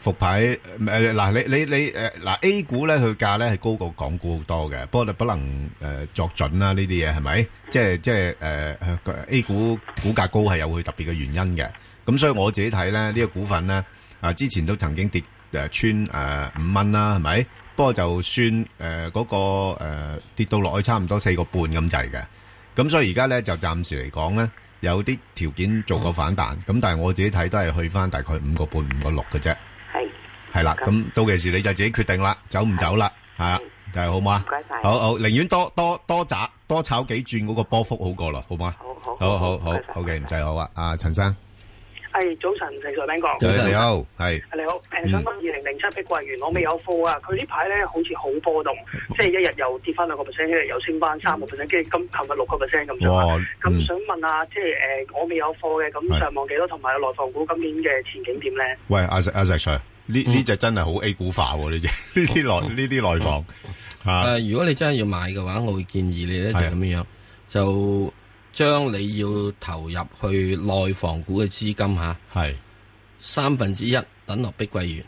復牌嗱，你嗱 A 股咧，佢價咧係高過港股好多嘅，不過你不能作準啦，呢啲嘢係咪？即係A 股股價高係有佢特別嘅原因嘅。咁所以我自己睇咧，呢個股份咧之前都曾經跌穿5蚊啦，係咪？不過就算嗰個跌到落去差唔多4個半咁滯嘅。咁所以而家咧就暫時嚟講咧，有啲條件做個反彈。咁但係我自己睇都係去翻大概5個半、5個6嘅啫。係啦，咁到期時你就自己決定啦，走唔走啦，係啊，就係好嘛？唔該晒，好，寧願多炒幾轉嗰個波幅好過啦，好嘛？好嘅，唔使好啊，阿陳生， 係早晨，陳在彬哥， 早晨你好，係你好，想問2007碧桂園，我未有貨啊，佢呢排咧好似好波動，即係一日又跌翻2%，一日又升翻3%，跟住琴日6%咁上下。咁想問下，即係我未有貨嘅，咁上望幾多，同埋內房股今年嘅前景點咧？喂，阿石 Sir。呢隻真係好 A 股化喎！呢啲內房嚇。 如果你真係要買嘅話，我會建議你咧就咁樣，就將你要投入去內房股嘅資金係1/3等落碧桂園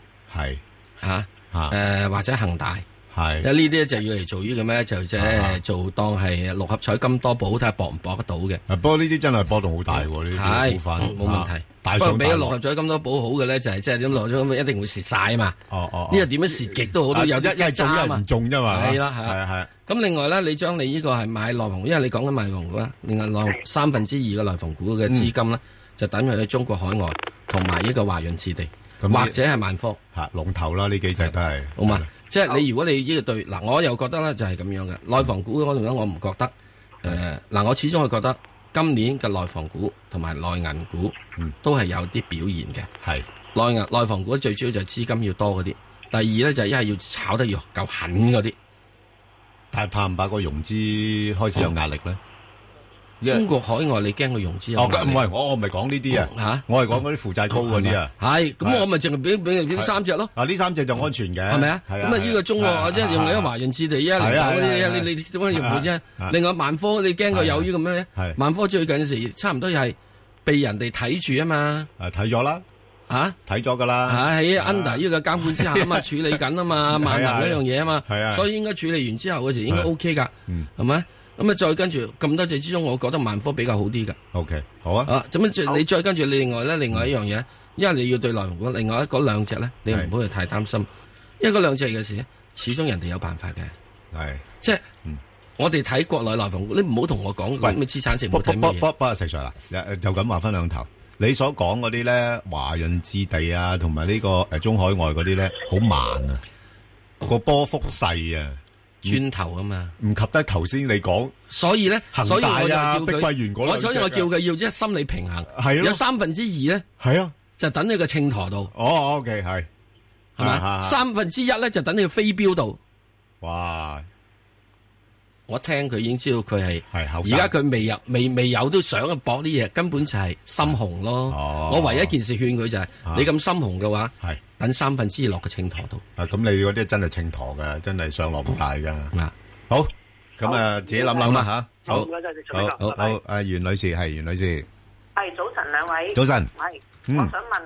或者恒大。因為呢啲就要嚟做呢個咩？就即係做當係6合彩金多寶，睇下搏唔搏得到嘅。不過呢啲真係波動好大喎，呢啲股份冇問題。不過俾咗6合彩金多寶好嘅咧，就係即係點落咗一定會蝕晒啊嘛。呢個點樣蝕極都好，都有啲一中一唔中啫嘛。係啦。咁另外咧，你將你呢個係買內房，因為你講緊內房股啦，另外2/3嘅內房股嘅資金咧，就等佢去中國海外同埋呢個華潤置地，或者係萬科龍頭啦。呢幾隻都係好嘛。即係你如果你呢個對嗱，我又覺得咧就係咁樣嘅內房股嗰度咧，我唔覺得嗱，我始終係覺得今年嘅內房股同埋內銀股都係有啲表現嘅。係內房股最主要就係資金要多嗰啲，第二咧就係一係要炒得要夠狠嗰啲。但係怕唔怕個融資開始有壓力咧？中國海外你驚佢融資有壓力？唔係，我唔係講呢啲啊，我係講嗰啲負債高嗰啲啊。係，咁我咪淨係俾呢3隻咯。呢3隻就安全嘅，係咪啊？咁啊，呢個中國即係用你華潤置地110嗰啲，你點樣用佢啫？另外萬科你驚佢有呢個咩咧？萬科最近時差唔多係被人哋睇住啊嘛。睇咗啦，睇咗噶啦。喺 under 呢個監管之下啊嘛，處理緊啊嘛，萬能一樣嘢啊嘛。所以應該處理完之後嗰時應該 OK 噶，係咪？咁啊，再跟住咁多隻之中，我覺得萬科比較好啲噶。OK， 好啊。咁樣你再跟住另外一樣嘢，因為你要對內房股，另外嗰2隻咧，你唔好去太擔心，因為嗰2隻嘅事，始終人哋有辦法嘅。係，即係我哋睇國內內房股，你唔好同我講咩資產值冇睇乜嘢。不實在啦，就咁話分兩頭。你所講嗰啲咧，華潤置地啊，同埋呢個中海外嗰啲咧，好慢啊，個波幅細啊。磚頭啊嘛，唔及得頭先你講，所以咧，恒大啊、碧桂園嗰兩隻，所以我叫佢要即係心理平衡，係咯，有2/3咧，係啊，就等你個秤砣度。哦 ，OK， 係咪？1/3咧就等你個飛鏢度。哇！我聽佢已經知道佢係，而家佢未有都想去搏啲嘢，根本就係心紅咯。我唯一一件事勸佢就係，你咁心紅嘅話，係。等2/3落個秤砣度。咁你嗰啲真係秤砣嘅，真係上落唔大噶。好，咁自己諗諗啦吓。好，好，阿袁女士係袁女士。 係早晨兩位。 早晨。 係，我想問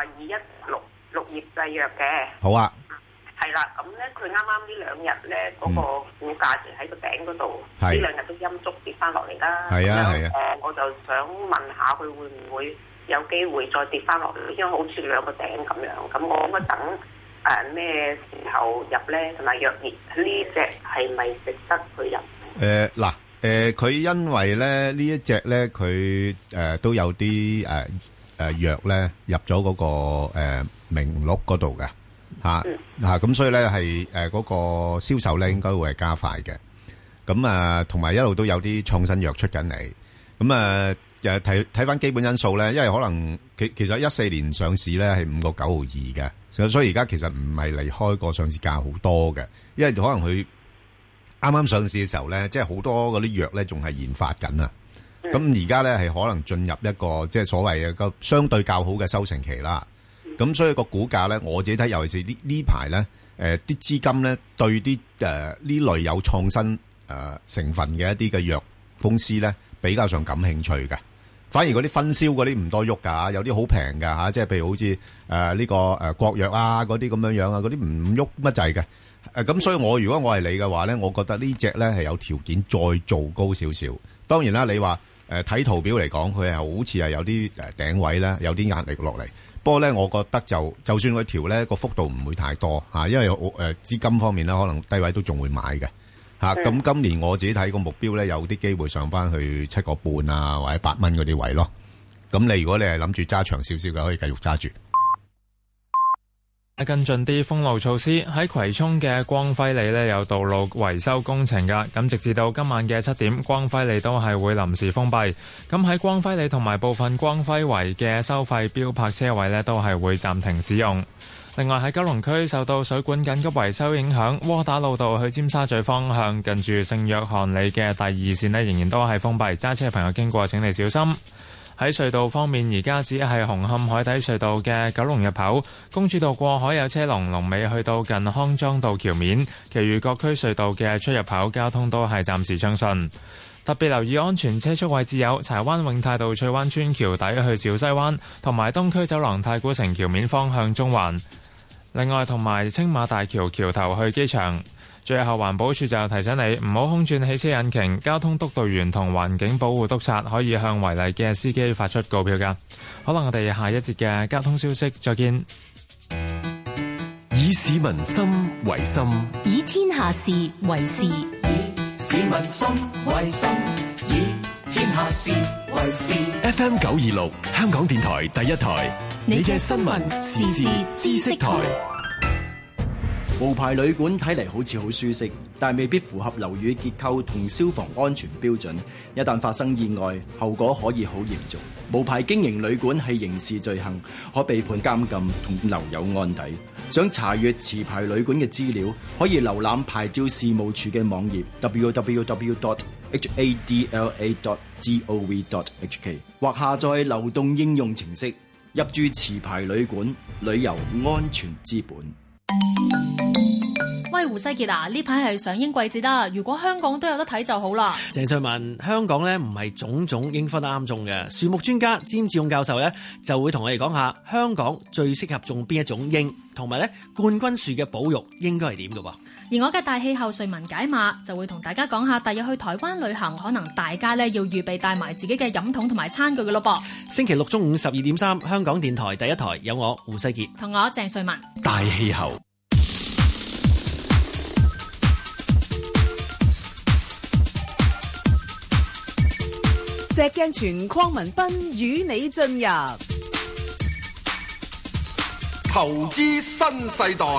2166綠葉製藥嘅。 好啊。 係啦，咁咧佢啱啱呢2日咧嗰個股價就喺個頂嗰度，呢2日都陰燭跌翻落嚟啦。係啊係啊。我就想問下佢會唔會有機會再跌翻落嚟，因為好似2個頂咁樣。咁我應該等咩時候入咧？同埋藥業呢隻係咪值得去入？ 佢因為咧呢一隻咧，佢都有啲藥咧入咗嗰個名錄嗰度嘅咁所以咧係嗰個銷售咧應該會係加快嘅。咁同埋一路都有啲創新藥出緊嚟。咁睇翻基本因素咧，因為可能其實14年上市咧係5.92嘅，所以而家其實唔係離開個上市價好多嘅，因為可能佢啱啱上市嘅時候咧，即係好多嗰啲藥咧仲係研發緊啊。咁而家咧係可能進入一個即係所謂嘅個相對較好嘅收成期啦。咁所以個股價咧，我自己睇，尤其是呢排咧，啲資金咧對啲呢類有創新成分嘅一啲嘅藥公司咧比較上感興趣嘅。 反而嗰啲分銷嗰啲唔多喐㗎，有啲好平㗎嚇，即係譬如好似呢個國藥啊嗰啲咁樣樣啊，嗰啲唔喐乜滯嘅。咁所以如果我係你嘅話咧，我覺得呢隻咧係有條件再做高少少。當然啦，你話睇圖表嚟講，佢係好似係有啲頂位咧，有啲壓力落嚟。不過咧，我覺得就算佢調咧個幅度唔會太多嚇，因為資金方面咧可能低位都仲會買嘅嚇。咁今年我自己睇個目標咧，有啲機會上翻去7.5啊或者8蚊嗰啲位咯。咁如果你係諗住揸長少少嘅，可以繼續揸住。 跟進啲封路措施，喺葵涌嘅光輝里呢有道路維修工程㗎，咁直至到今晚嘅7點，光輝里都係會臨時封閉。咁喺光輝里同埋部分光輝圍嘅收費標泊車位呢都係會暫停使用。另外喺九龍區受到水管緊急維修影響，窩打老道去尖沙咀方向近住聖約翰里嘅第2線呢仍然都係封閉，揸車嘅朋友經過請你小心。喺隧道方面，而家只係紅磡海底隧道嘅九龍入口、公主道過海有車龍尾去到近康莊道橋面，其餘各區隧道嘅出入口交通都係暫時暢順。特別留意安全車速位置有柴灣永泰道翠灣村橋底去小西灣，同埋東區走廊太古城橋面方向中環。另外，同埋青馬大橋橋頭去機場。最後，環保署就提醒你唔好空轉汽車引擎，交通督導員同環境保護督察可以向違例嘅司機發出告票㗎。可能我哋下一節嘅交通消息再見。 以市民心為心， 以天下事為事，以市民心為心，以天下事為事。 FM 926香港電台第一台，你嘅新聞時事知識台。 無牌旅館睇嚟好似好舒適，但未必符合樓宇結構同消防安全標準。一旦發生意外，後果可以好嚴重。無牌經營旅館係刑事罪行，可被判監禁同留有案底。想查閱持牌旅館嘅資料，可以瀏覽牌照事務處嘅網頁 www.hadla.gov.hk 或下載流動應用程式，入住持牌旅館，旅遊安全之本。 喂，胡世杰啊，呢排係上映季節啦，如果香港都有得睇就好啦。 鄭瑞文，香港呢唔係種種應分得啱種嘅，樹木專家詹志勇教授呢就會同我哋講下香港最適合種邊一種櫻，同埋呢冠軍樹嘅保育應該係點嘅喎。 而我嘅大氣候瑞文解碼就會同大家講下，第日去台灣旅行，可能大家呢要預備帶埋自己嘅飲筒同埋餐具嘅咯噃。 星期六中午12.3，香港電台第一台有我胡世杰同我鄭瑞文。 大氣候。 石鏡泉鄺民彬與你進入投資新世代。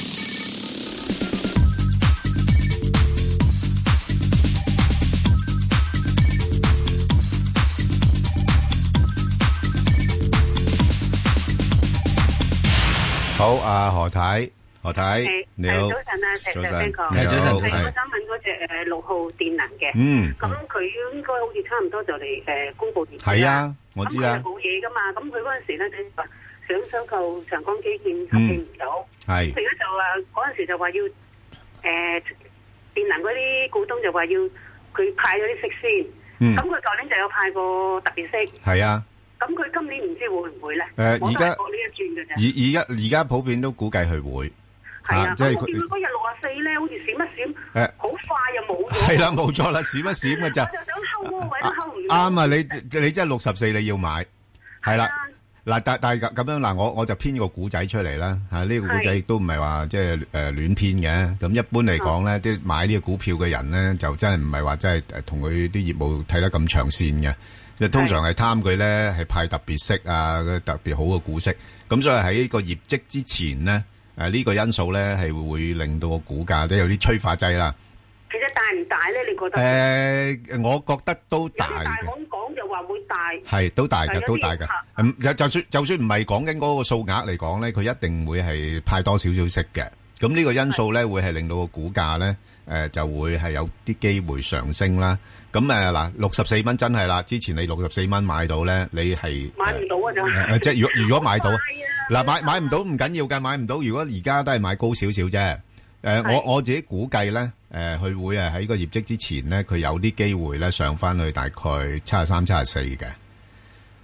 好，何太。你好， 早晨啊，石 Sir 哥， 你好， 我想問嗰隻6號電能嘅，咁佢應該好似差唔多就嚟公佈業績。 係啊，我知啦。 咁佢冇嘢噶嘛，咁佢嗰陣時咧就話想收購長江基建，合併唔到。係。咁而家就話嗰陣時就話要電能嗰啲股東就話要佢派咗啲息先。咁佢舊年就有派過特別息。係啊。咁佢今年唔知會唔會咧？而家過呢一轉嘅啫。 而家普遍都估計佢會。 係啊，即係佢嗰日64咧，好似閃一閃，好快又冇咗。 係啦，冇錯啦，閃一閃嘅咋。 我就想睺嗰個位都睺唔到。 啱啊！你真係64你要買，係啦。嗱，但係咁樣嗱，我就編個古仔出嚟啦。呢個古仔亦都唔係話即係亂編嘅。咁一般嚟講咧，啲買呢個股票嘅人咧，就真係唔係話真係同佢啲業務睇得咁長線嘅。即係通常係貪佢咧係派特別息啊，特別好嘅股息。咁所以喺呢個業績之前咧。呢個因素咧係會令到個股價都有啲催化劑啦。 其實大唔大咧？你覺得？ 我覺得都大嘅。 大行講就話會大。 係都大嘅，都大嘅。就算唔係講緊嗰個數額嚟講咧，佢一定會係派多少少息嘅。咁呢個因素咧會係令到個股價咧就會係有啲機會上升啦。咁嗱，64蚊真係啦。之前你64蚊買到咧，你係買唔到啊！ 即係如果買到。嗱，買唔到唔緊要㗎，買唔到。如果而家都係買高少少啫。我自己估計咧，佢會喺個業績之前咧，佢有啲機會咧上翻去大概73、74嘅。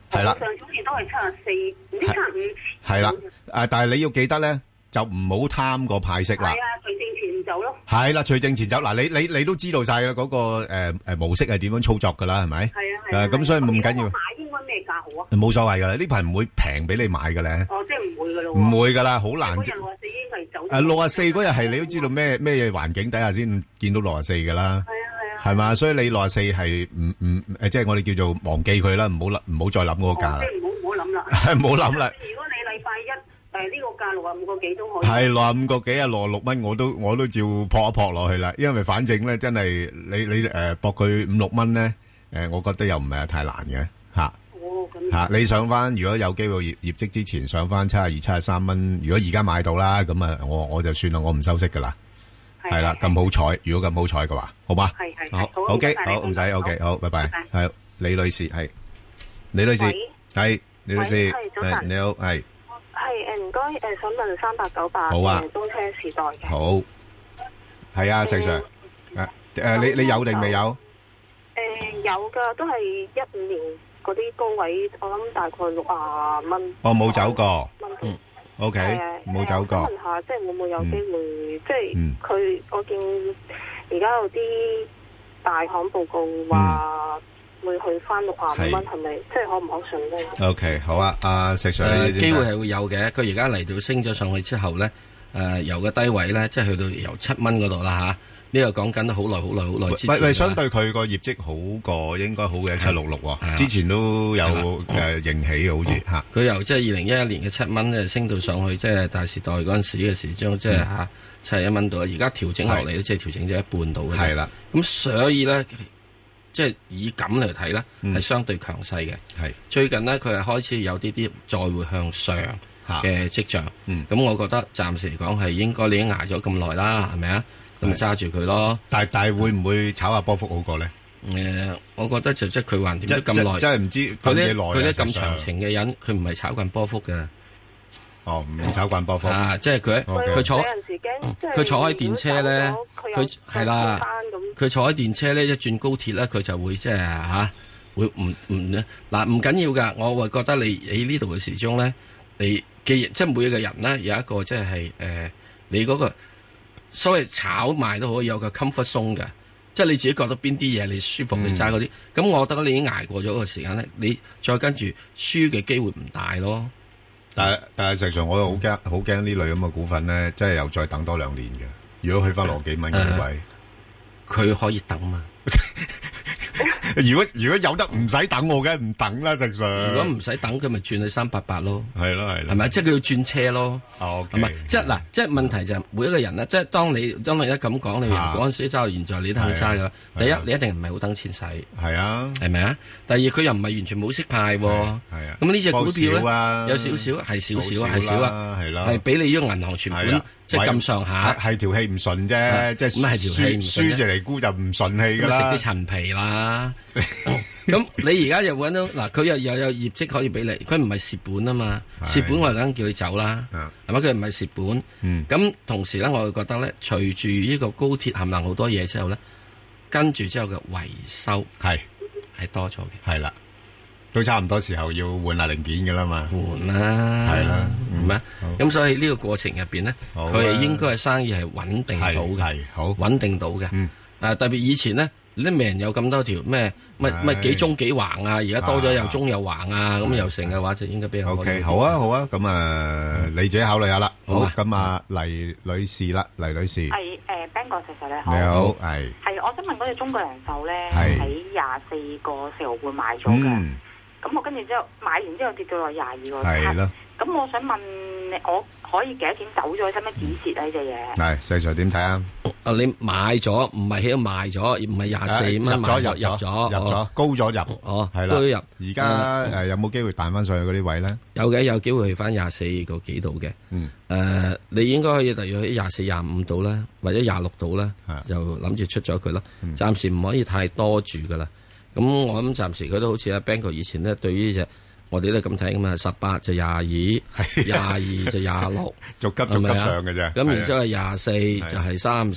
係啦。 上次好似都係74，唔知75。 係啦，但係你要記得咧，就唔好貪個派息啦。 係啊，除正前走咯。 係啦，除正前走嗱，你都知道晒啦，嗰個模式係點樣操作噶啦，係咪？係啊。咁所以唔緊要。 買應該咩價好啊？ 冇所謂噶啦，呢排唔會平俾你買嘅咧。 哦，即係唔會噶咯。 唔會噶啦，好難。 嗰日64已經係走。 64嗰日係你都知道咩環境底下先見到64噶啦。係啊。係嘛，所以你64係即係我哋叫做忘記佢啦，唔好再諗嗰個價啦。 即係唔好諗啦。 係唔好諗啦。 如果你禮拜一呢個價65個幾都可以。 係65個幾啊，66蚊我都照撲一撲落去啦，因為反正咧真係你搏佢5、6蚊咧，我覺得又唔係太難嘅嚇。 哦，咁嚇你上翻，如果有機會業績之前上翻72、73蚊，如果而家買到啦，咁啊我就算啦，我唔收息噶啦。係啦，咁好彩，如果咁好彩嘅話，好嘛？ 係好 OK， 好唔使 OK， 好，拜拜。係李女士，係李女士，係李女士，係你好，係。 係唔該，想問3898 好啊， 東車時代嘅。 好，係啊，石 Sir，你有定未有？ 有噶，都係15年嗰啲高位，我諗大概60蚊。 哦，冇走過。OK，冇走過。 我想問下，即係會唔會有機會？即係佢，我見而家有啲大行報告話會去翻65蚊，係咪？即係可唔可信咧 ？OK， 好啊，阿石 Sir， 機會係會有嘅。佢而家嚟到升咗上去之後咧，由個低位咧，即係去到由7蚊嗰度啦嚇。呢個講緊好耐之前。喂， 相對佢個業績好過，應該好嘅766喎。之前都有盈喜嘅，好似嚇。 佢由即係2011年嘅7蚊咧，升到上去即係大時代嗰陣時嘅時鐘，即係嚇71蚊度。而家調整落嚟咧，即係調整咗一半度嘅。係啦。咁所以咧，即係以咁嚟睇咧，係相對強勢嘅。係。最近呢，佢係開始有啲再會向上嘅跡象。咁我覺得暫時嚟講係應該你已經捱咗咁耐啦，係咪啊？咁咪揸住佢咯，但係會唔會炒下波幅好過咧？我覺得就即係佢還掂咗咁耐，真係唔知佢啲咁長情嘅人，佢唔係炒慣波幅嘅。哦，唔炒慣波幅啊！即係佢坐喺電車咧，佢係啦，佢坐喺電車咧，一轉高鐵咧，佢就會即係嚇會唔嗱唔緊要㗎。我會覺得你喺呢度嘅時鐘咧，你既然即係每一個人咧有一個即係你嗰個。所謂炒賣都可以有個 comfort zone 嘅，即係你自己覺得邊啲嘢你舒服，你揸嗰啲。咁我覺得你已經捱過咗個時間咧，你再跟住輸嘅機會唔大咯。但係實際上我又好驚呢類咁嘅股份咧，即係又再等多2年嘅。如果去翻羅幾蚊嘅位，佢可以等嘛？如果有得唔使等，我梗係唔等啦，實上。如果唔使等，佢咪轉去388咯。係咯，係咪？即係佢要轉車咯。係咪？即係嗱，即係問題就係每一個人咧，即係當你一咁講，你嗰陣時揸到現在，你都肯揸噶。第一，你一定唔係好等錢使。係啊。係咪啊？第二，佢又唔係完全冇息派。係啊。咁呢隻股票咧，有少少係少少係少啊，係啦，係俾你呢個銀行存款。即係咁上下，係條氣唔順啫，即係輸就嚟沽就唔順氣噶啦。食啲陳皮啦，咁你而家又揾到嗱，佢又有業績可以俾你，佢唔係蝕本啊嘛，蝕本我係梗叫佢走啦，係咪？佢唔係蝕本，咁同時咧，我會覺得咧，隨住呢個高鐵冚唪唥好多嘢之後咧，跟住之後嘅維修係多咗嘅，係啦。都差唔多時候要換下零件㗎啦嘛，換啦，係啦，係咪？咁所以呢個過程入邊咧，佢係應該係生意係穩定到嘅，係好穩定到嘅。特別以前咧，你都未人有咁多條咩幾中幾橫啊，而家多咗又中又橫啊，咁又成嘅話就應該比較 OK。好啊，好啊，咁你自己考慮下啦。好，咁啊，黎女士啦，黎女士。係 Ben 哥，石 Sir 你好。 你好，係。 係，我想問嗰隻中國人壽咧，喺24個4毫半買咗嘅。咁我跟住之後買完之後跌到落22個7，咁我想問我可以幾多錢走咗，使乜止蝕啊呢隻嘢？係，細 Sir 點睇啊？你買咗唔係喺度賣咗，唔係24蚊買咗入咗高咗入，係啦，高咗入。而家有冇機會彈翻上去嗰啲位咧？有嘅，有機會去翻24個幾度嘅。你應該可以大約喺24、25度啦，或者26度啦，就諗住出咗佢咯。暫時唔可以太多住噶啦。咁我諗暫時佢都好似阿 Bang 哥以前咧，對於呢隻我哋都咁睇噶嘛，18就22， 22就26，逐級上嘅啫。咁然之後24就係30，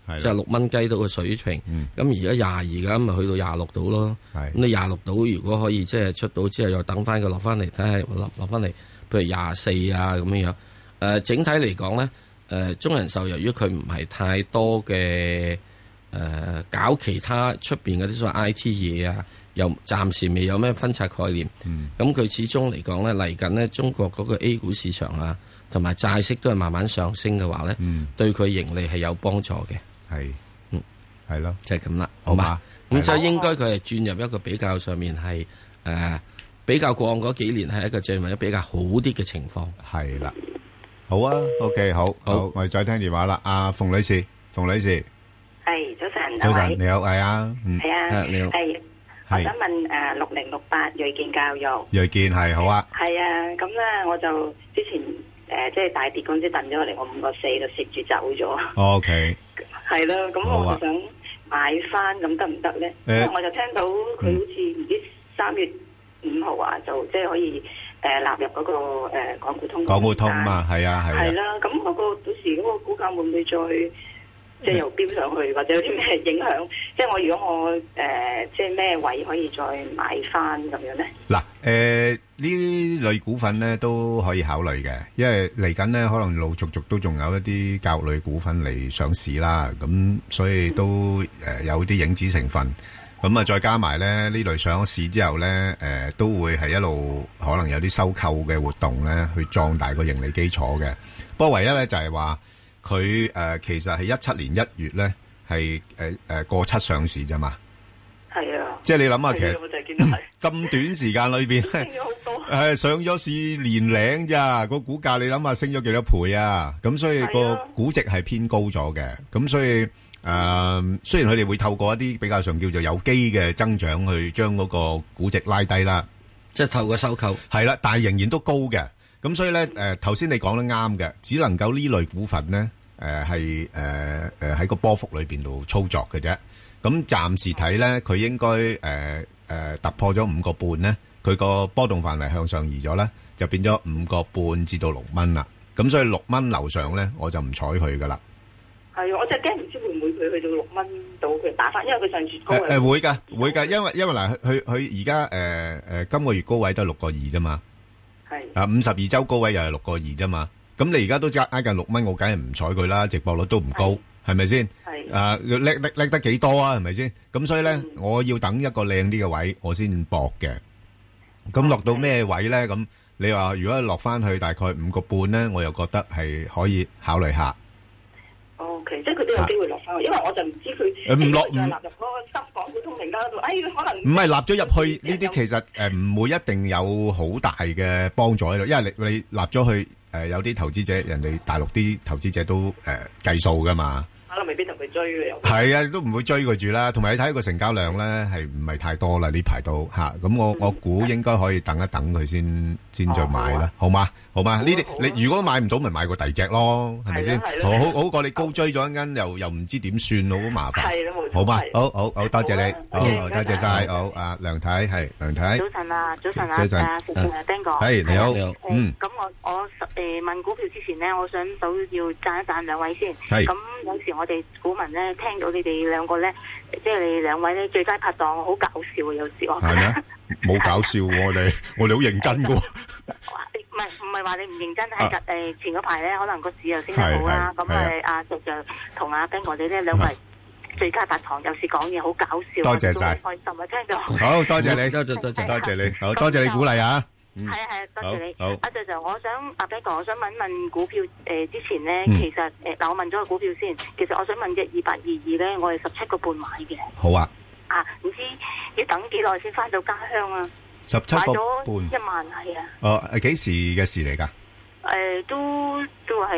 即係6蚊雞到嘅水平。咁而家22咁咪去到26度咯。咁你26度如果可以即係出到之後又等翻佢落翻嚟，睇下落翻嚟，譬如24啊咁樣樣。整體嚟講咧，中人壽由於佢唔係太多嘅搞其他出邊嗰啲所謂 I T 嘢啊，又暫時未有咩分拆概念。咁佢始終嚟講咧，嚟緊呢中國嗰個 A 股市場啊，同埋債息都係慢慢上升嘅話咧，對佢盈利係有幫助嘅。 係咯， 就係咁啦，好嘛？咁就應該佢係轉入一個比較上面係比較過往嗰幾年係一個進入比較好啲嘅情況。 係啦，好啊 ，OK， 好，我哋再聽電話啦，阿馮女士， 係早晨， 早晨，你好，係啊， 係啊， 你好， 係，我想問6068睿健教育， 睿健係好啊， 係啊，咁咧我就之前即係大跌嗰陣時掟咗落嚟，我5.4就蝕住走咗。 OK， 係啦，咁我就想買翻，咁得唔得咧？因為我就聽到佢好似唔知3月5號啊，就即係可以納入嗰個港股通。 港股通嘛，係啊，係啊。 係啦，咁嗰個到時嗰個股價會唔會再？即係又飆上去，或者有啲咩影響？即係我如果我即係咩位可以再買翻咁樣咧？ 嗱，呢類股份咧都可以考慮嘅，因為嚟緊咧可能陸續都仲有一啲教育類股份嚟上市啦，咁所以都有啲影子成分。咁啊，再加埋咧呢類上咗市之後咧，都會係一路可能有啲收購嘅活動咧，去壯大個盈利基礎嘅。不過唯一咧就係話。佢其實係17年1月咧，係過7上市啫嘛。係啊，即係你諗下，其實咁短時間裏邊升咗好多，上咗市年零咋，個股價你諗下升咗幾多倍啊？咁所以個估值係偏高咗嘅。咁所以雖然佢哋會透過一啲比較上叫做有機嘅增長去將嗰個估值拉低啦， 即係透過收購係啦，但係仍然都高嘅。咁所以咧，頭先你講得啱嘅，只能夠呢類股份咧，係喺個波幅裏邊度操作嘅啫。咁暫時睇咧，佢應該突破咗5個半咧，佢個波動範圍向上移咗咧，就變咗5個半至到6蚊啦。咁所以6蚊樓上咧，我就唔睬佢噶啦。 係，我就驚唔知會唔會佢去到6蚊到佢打翻，因為佢上次高會㗎，因為嗱，佢而家今個月高位都係6個2啫嘛。啊，52周高位又係6個2啫嘛，咁你而家都挨近6蚊，我梗係唔睬佢啦，值博率都唔高，係咪先？係叻得幾多啊？係咪先？咁所以咧，我要等一個靚啲嘅位，我先搏嘅。咁落到咩位咧？咁你話如果落翻去大概5個半咧，我又覺得係可以考慮下。 OK，即係佢都有機會落翻去，因為我就唔知佢唔落納入嗰個深港股通名單度，可能唔係納咗入去呢啲，其實唔會一定有好大嘅幫助喺度，因為你納咗去有啲投資者，人哋大陸啲投資者都計數噶嘛。 可能未必同佢追嘅又係啊，都唔會追佢住啦。同埋你睇個成交量咧，係唔係太多啦？呢排都嚇，咁我估應該可以等一等佢先再買啦，好嗎？好嗎？呢啲你如果買唔到，咪買個第二隻咯，係咪先？好過你高追咗一間，又唔知點算，好麻煩。係咯，冇錯。好嗎？好，多謝你，好多謝晒。好，阿梁太係梁太。 早晨啊，Ben 哥。 係你好。 咁我問股票之前咧，我想都要讚一讚兩位先。係。咁有時我哋股民咧聽到你哋兩個咧，即係你兩位咧最佳拍檔，好搞笑啊！有時我係咩？ 冇搞笑喎，我哋好認真噶。 唔係話你唔認真，係前嗰排咧，可能個市又升得好啦。咁阿石就同阿 Ben 哥哋咧兩位最佳拍檔，有時講嘢好搞笑。 多謝晒， 開心啊！聽到好多謝你，多謝你，好多謝你鼓勵啊！ 係多謝你。 好， 阿 Sir 就我想阿 Ben 哥，我想問股票之前咧，其實嗱我問咗個股票先，其實我想問嘅2822咧，我係17個半買嘅。 好啊。 唔知要等幾耐先翻到家鄉啊 ？17個半 1萬係啊。 幾時嘅事嚟㗎？ 都係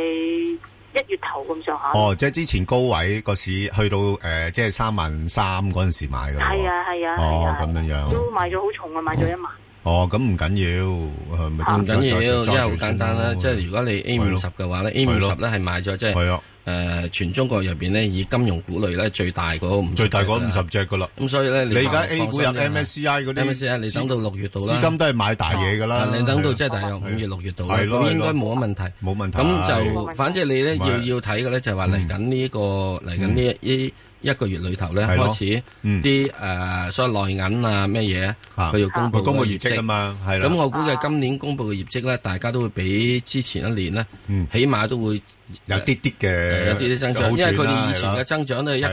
1月頭咁上下。 即係之前高位個市去到即係33000嗰陣時買㗎。係啊。 咁樣都買咗好重啊，買咗1萬。 咁唔緊要，唔緊要，因為好簡單啦。即係如果你 A50嘅話咧，A50咧係買咗即係全中國入邊咧，以金融股類咧最大嗰最大嗰50隻噶啦。 咁所以咧， 你而家 A 股入 MSCI 嗰啲 ，MSCI 你等到6月度啦， 資金都係買大嘢噶啦。 你等到即係大約5月6月度啦，咁應該冇乜問題。 冇問題。 咁就反正你咧要睇嘅咧，就係話嚟緊呢個嚟緊呢一個月裏頭咧開始啲所謂內銀啊咩嘢，佢要公布業績啊嘛，係啦。 咁我估計今年公布嘅業績咧，大家都會比之前一年咧，起碼都會有啲嘅， 有啲增長，因為佢哋以前嘅增長都係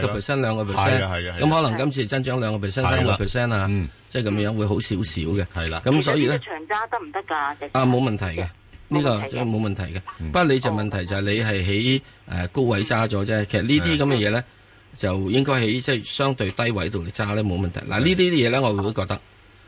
1%、2%，咁可能今次增長2%、3% 啊，即係咁樣會好少少嘅。 係啦， 咁所以咧， 長揸得唔得㗎？ 冇問題嘅，呢個即係冇問題嘅。不過你就問題就係你係喺高位揸咗啫。其實呢啲咁嘅嘢咧，就應該喺即係相對低位度嚟揸咧冇問題。嗱呢啲嘢咧，我會覺得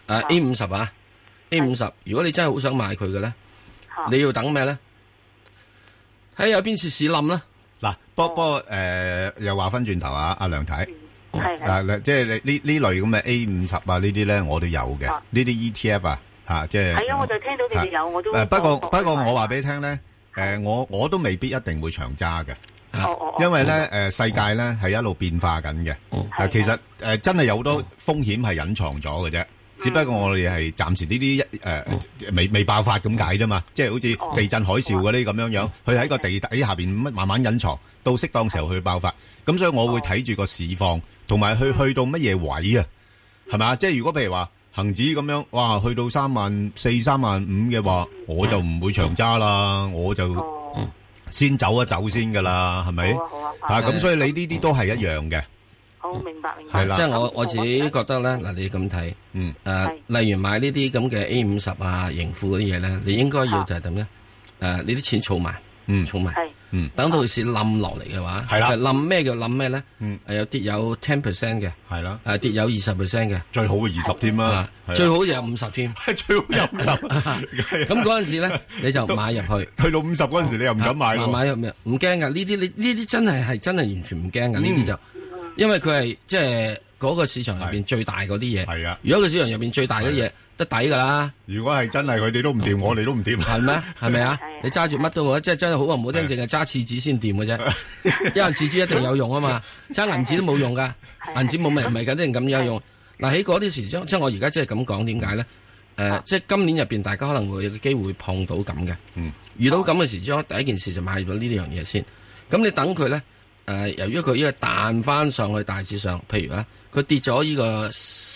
A50 啊 A50，如果你真係好想買佢嘅咧，你要等咩咧？睇有邊次市冧啦。 嗱，不過又話翻轉頭啊，阿梁太，嗱即係你呢類咁嘅 A50啊呢啲咧，我都有嘅。呢啲 ETF 啊，即係。係啊， 我就聽到你哋有，我都。 不過我話俾你聽咧，我都未必一定會長揸嘅。因為咧世界咧係一路變化緊嘅。其實真係有好多風險係隱藏咗嘅啫。只不過我哋係暫時呢啲未爆發咁解啫嘛，即係好似地震海嘯嗰啲咁樣，佢喺個地底下邊慢慢隱藏，到適當時候去爆發。咁所以我會睇住個市況，同埋去到乜嘢位啊，係咪？即係如果譬如話恒指咁樣，哇，去到34,000、35,000嘅話，我就唔會長揸啦，我就先走一走先噶啦，係咪？咁所以你呢啲都係一樣嘅。 好，明白。係啦，即係我自己覺得咧，嗱，你咁睇，例如買呢啲咁嘅 A50啊、盈富嗰啲嘢咧，你應該要就係點咧？你啲錢儲埋，儲埋，等到市冧落嚟嘅話，係啦，冧咩叫冧咩咧？有跌有10% 嘅，係啦，跌有20% 嘅， 最好嘅20添啦， 最好就有50添， 最好有50。 咁嗰陣時咧，你就買入去， 去到50嗰陣時，你又唔敢買咯， 買入咩？唔驚噶，呢啲真係完全唔驚噶，呢啲就。因為佢係即係嗰個市場入邊最大嗰啲嘢，係啊。如果個市場入邊最大嘅嘢得抵噶啦。 如果係真係佢哋都唔掂，我哋都唔掂。 係咩？係咪啊？你揸住乜都好，即係真係好話唔好聽，淨係揸廁紙先掂嘅啫。因為廁紙一定有用啊嘛，揸銀紙都冇用噶，銀紙冇咪唔係緊啲咁有用。嗱喺嗰啲時將，即係我而家即係咁講，點解咧？即係今年入邊，大家可能會有機會碰到咁嘅。遇到咁嘅時將，第一件事就買咗呢啲樣嘢先。咁你等佢咧。由於佢呢個彈翻上去大致上，譬如佢跌咗呢個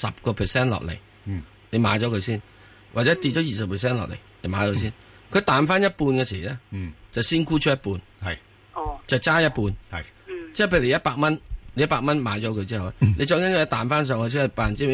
10% 落嚟，你買咗佢先，或者跌咗20% 落嚟，你買咗佢先。佢彈翻一半嘅時咧，就先沽出一半，係，就揸一半，係，即係譬如100蚊，你100蚊買咗佢之後，你再跟住彈翻上去，即係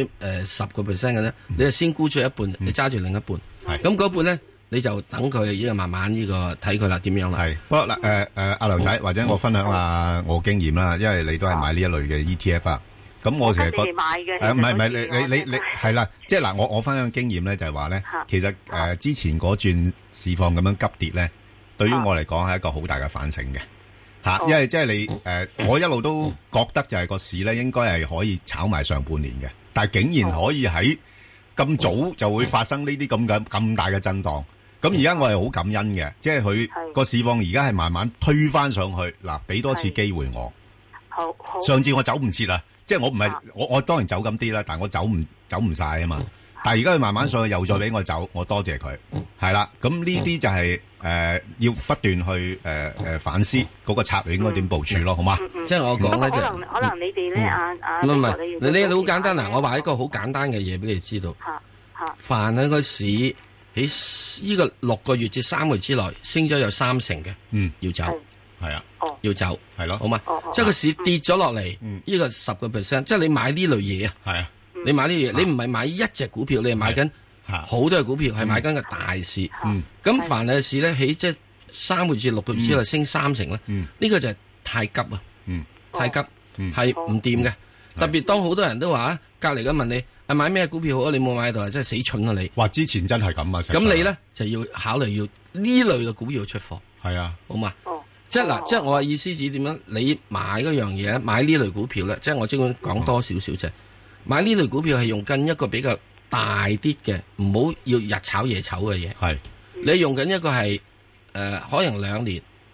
10% 嘅咧，你就先沽出一半，你揸住另一半，係，咁嗰半咧。你就等佢呢個慢慢呢個睇佢啦，點樣啦？係， 不過嗱阿梁仔，或者我分享下我經驗啦，因為你都係買呢一類嘅 ETF 啊。咁我成日覺得唔係你係啦，即係嗱，我分享經驗咧，就係話咧，其實之前嗰轉市況咁樣急跌咧，對於我嚟講係一個好大嘅反省嘅嚇，因為即係你我一路都覺得就係個市咧應該係可以炒埋上半年嘅，但係竟然可以喺咁早就會發生呢啲咁大嘅震盪。咁而家我係好感恩嘅，即係佢個市況而家係慢慢推返上去，嗱，俾多次機會我。好，上次我走唔切啦，即係我唔係我當然走咁啲啦，但係我走唔晒啊嘛。但係而家佢慢慢上去又再俾我走，我多謝佢。係啦，咁呢啲就係要不斷去反思嗰個策略應該點部署咯，好嘛？ 即係我講咧， 可能你哋咧唔係你好簡單嗱，我話一個好簡單嘅嘢俾你知道。凡喺個市喺呢個6個月至3個月之內升咗有30%嘅，要走，係啊，要走，係咯，好嘛？即係個市跌咗落嚟，呢個10%，即係你買呢類嘢啊，係啊，你買呢嘢，你唔係買一隻股票，你係買緊好多嘅股票，係買緊個大市。咁凡係市咧，喺即係3個月至6個月之內升30%咧，呢個就係太急啊，太急係唔掂嘅。特別當好多人都話隔籬咁問你。買咩股票好啊？你冇買到啊！真係死蠢啊你！ 哇！之前真係咁啊！ 咁你咧就要考慮要呢類嘅股票出貨。係啊，好嘛？即係嗱，即係我嘅意思指點樣？你買嗰樣嘢，買呢類股票咧，即係我即管講多少少啫。買呢類股票係用緊一個比較大啲嘅，唔好要日炒夜炒嘅嘢。係你用緊一個係可能2年，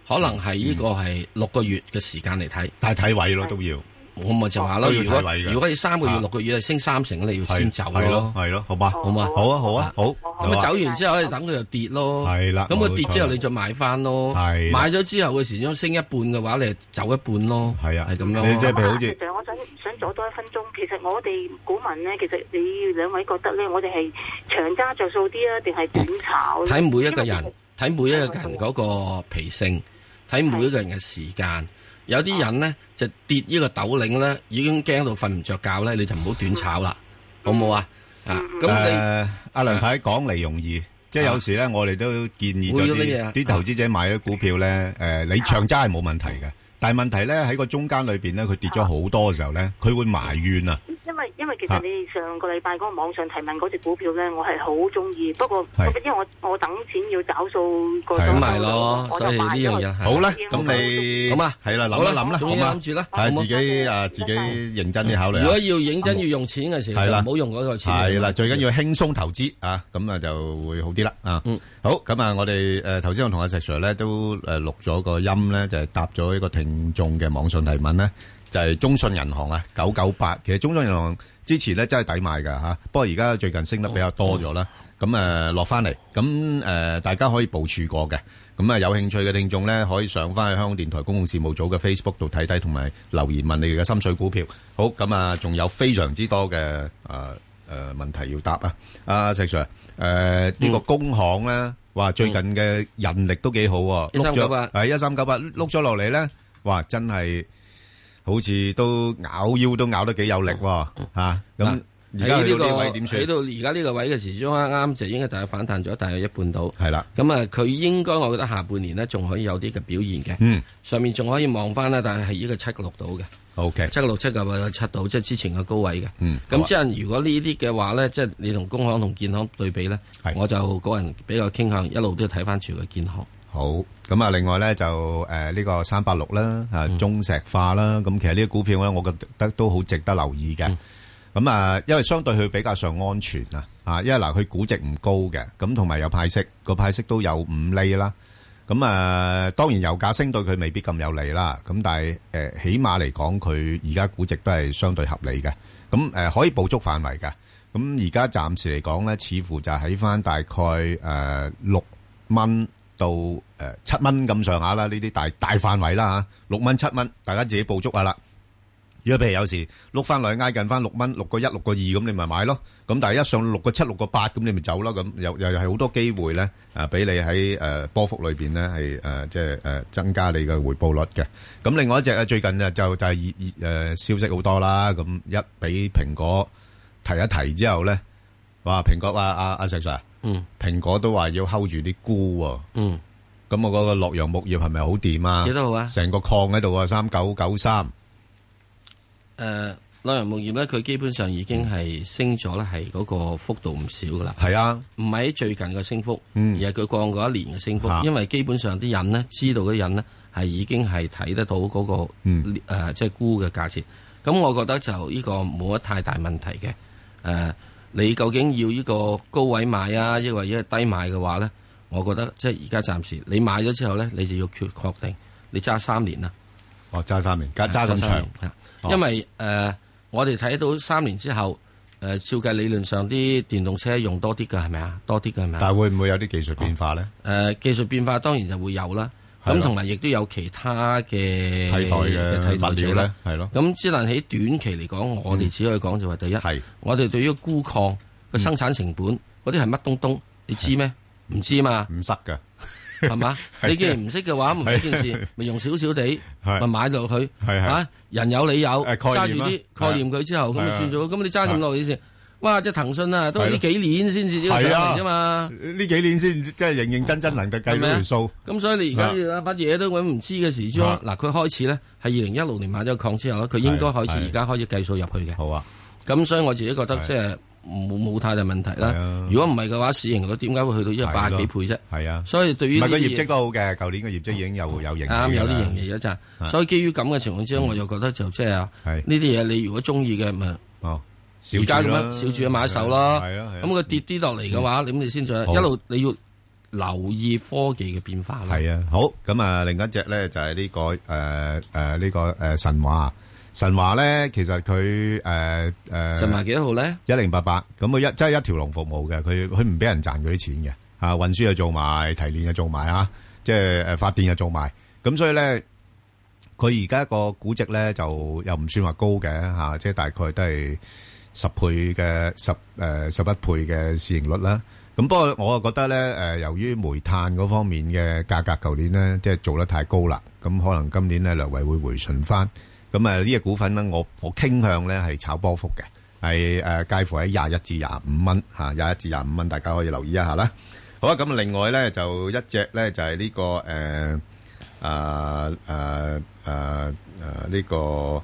可能係呢個係6個月嘅時間嚟睇， 但係睇位咯都要。 我咪就話咯，如果你3個月、6個月係升30%，你要先走咯， 係咯，好嘛， 好嘛， 好啊，好啊，好。 咁啊走完之後，你等佢又跌咯， 係啦。 咁佢跌之後，你再買翻咯，係買咗之後嘅時鐘升一半嘅話，你就走一半咯，係啊，係咁樣。 你即係譬如好似， 其實我想阻多1分鐘。其實我哋股民咧，其實你兩位覺得咧，我哋係長揸着數啲啊，定係短炒？ 睇每一個人，睇每一個人嗰個脾性，睇每一個人嘅時間。有啲人咧就跌呢個斗領咧，已經驚到瞓唔着覺咧，你就唔好短炒啦，好唔好啊？咁你阿梁太講嚟容易，即係有時咧，我哋都建議咗啲投資者買咗股票咧，你長揸係冇問題嘅，但係問題咧喺個中間裏邊咧，佢跌咗好多嘅時候咧，佢會埋怨啊。 因為其實你上個禮拜嗰個網上提問嗰隻股票咧，我係好中意，不過因為我等錢要找數個咁咪咯，所以呢樣嘢好啦，咁你好嘛， 係啦，諗一諗啦，好嘛， 諗住啦， 係自己認真啲考慮。 如果要認真要用錢嘅時候，就唔好用嗰個錢。 係啦，最緊要輕鬆投資啊，咁啊就會好啲啦啊。好，咁啊，我哋頭先我同阿石 Sir 咧都錄咗個音咧，就係答咗一個聽眾嘅網上提問咧。就係中信銀行啊，998。其實中信銀行之前咧真係抵買㗎嚇，不過而家最近升得比較多咗啦。咁落翻嚟，咁大家可以部署過嘅。咁有興趣嘅聽眾咧，可以上翻去香港電台公共事務組嘅 Facebook 度睇睇，同埋留言問你哋嘅心水股票。好，咁啊，仲有非常之多嘅問題要答啊。阿石 Sir，呢個工行咧，話最近嘅人力都幾好喎，1398係1398碌咗落嚟咧，哇！真係〜好似都咬腰都咬得幾有力喎，嚇咁而家去到呢位點算？ 喺到而家呢個位嘅時鐘啱啱就應該大概反彈咗大約一半到， 係啦。 咁啊，佢應該我覺得下半年咧仲可以有啲嘅表現嘅。 嗯， 上面仲可以望翻啦，但係係呢個7個6到嘅。 OK， 7個6、7個7到，即係之前嘅高位嘅。 嗯， 咁即係如果呢啲嘅話咧，即係你同工行同建行對比咧，我就個人比較傾向一路都要睇翻住個建行。 好，咁啊，另外咧就呢個386啦，中石化啦，咁其實呢啲股票咧，我覺得都好值得留意嘅。咁啊，因為相對佢比較上安全啊，因為嗱佢估值唔高嘅，咁同埋有派息，個派息都有5厘啦。咁啊，當然油價升對佢未必咁有利啦。咁但係起碼嚟講，佢而家估值都係相對合理嘅。咁可以捕捉範圍嘅。咁而家暫時嚟講咧，似乎就喺翻大概6蚊。到7蚊咁上下啦，呢啲大範圍啦嚇，6蚊7蚊，大家自己捕捉下啦。如果譬如有時碌翻嚟挨近翻6蚊，6個1、6個2咁，你咪買咯。咁但係一上6個7、6個8咁，你咪走咯。咁又係好多機會咧，俾你喺波幅裏邊咧係即係增加你嘅回報率嘅。咁另外一隻咧，最近就係消息好多啦。咁一俾蘋果提一提之後咧，哇！蘋果話阿石 Sir。蘋果都話要 hold 住啲菇喎。咁我嗰個洛陽木業係咪好掂啊？ 幾多號啊？ 成個礦喺度啊，3993。 洛陽木業咧，佢基本上已經係升咗咧，係嗰個幅度唔少噶啦。 係啊， 唔係喺最近嘅升幅，而係佢過嗰一年嘅升幅。因為基本上啲人呢，知道嘅人呢，係已經係睇得到嗰個即係菇嘅價錢。咁我覺得就呢個冇乜太大問題嘅。你究竟要呢個高位買啊，抑或一低買嘅話咧，我覺得即係而家暫時你買咗之後咧，你就要確定你揸3年啦。 哦，揸3年，揸咁長。 因為我哋睇到3年之後，照計理論上啲電動車用多啲㗎，係咪啊？多啲㗎係咪啊？ 但係會唔會有啲技術變化咧？ 技術變化當然就會有啦。咁同埋亦都有其他嘅替代嘅物料咧，係咯。 咁只能喺短期嚟講，我哋只可以講就話第一，我哋對於鈷礦嘅生產成本嗰啲係乜東東，你知咩？唔知嘛？ 唔識㗎， 係嘛？你既然唔識嘅話，唔係一件事，咪用少少地，咪買落去。人有你有，揸住啲概念佢之後，咁咪算咗。咁你揸咁耐嘅先。哇！即係騰訊啊，都係呢幾年先至呢個上嚟啫嘛。 呢幾年先即係認認真真能夠計到條數。 咁所以你而家乜嘢都搵唔知嘅時鐘，嗱佢開始咧係2016年買咗個礦之後咧，佢應該開始而家開始計數入去嘅。 好啊。 咁所以我自己覺得即係冇太大問題啦。如果唔係嘅話，市盈率點解會去到180幾倍啫？ 係啊。 所以對於唔係個業績都好嘅，舊年嘅業績已經有盈利。 啱，有啲盈利一陣。所以基於咁嘅情況之下，我就覺得就即係呢啲嘢，你如果中意嘅咪而家咁樣小注買一手咯，咁佢跌啲落嚟嘅話，咁你先再一路你要留意科技嘅變化啦。 係啊，好咁啊，另一隻咧就係呢個神華。神華咧，其實佢神華幾多號咧 ？1088，咁佢即係一條龍服務嘅，佢唔俾人賺嗰啲錢嘅，運輸又做埋，提煉又做埋啊，即係發電又做埋，咁所以咧，佢而家個估值咧就又唔算話高嘅即係大概都係11倍嘅市盈率啦。咁不過我覺得咧，由於煤炭嗰方面嘅價格，舊年咧即係做得太高啦，咁可能今年咧略為會回順翻。咁呢隻股份咧，我傾向咧係炒波幅嘅，係介乎喺21至25蚊21至25蚊，大家可以留意一下啦。好啊，咁另外咧就一隻咧就係呢個呢個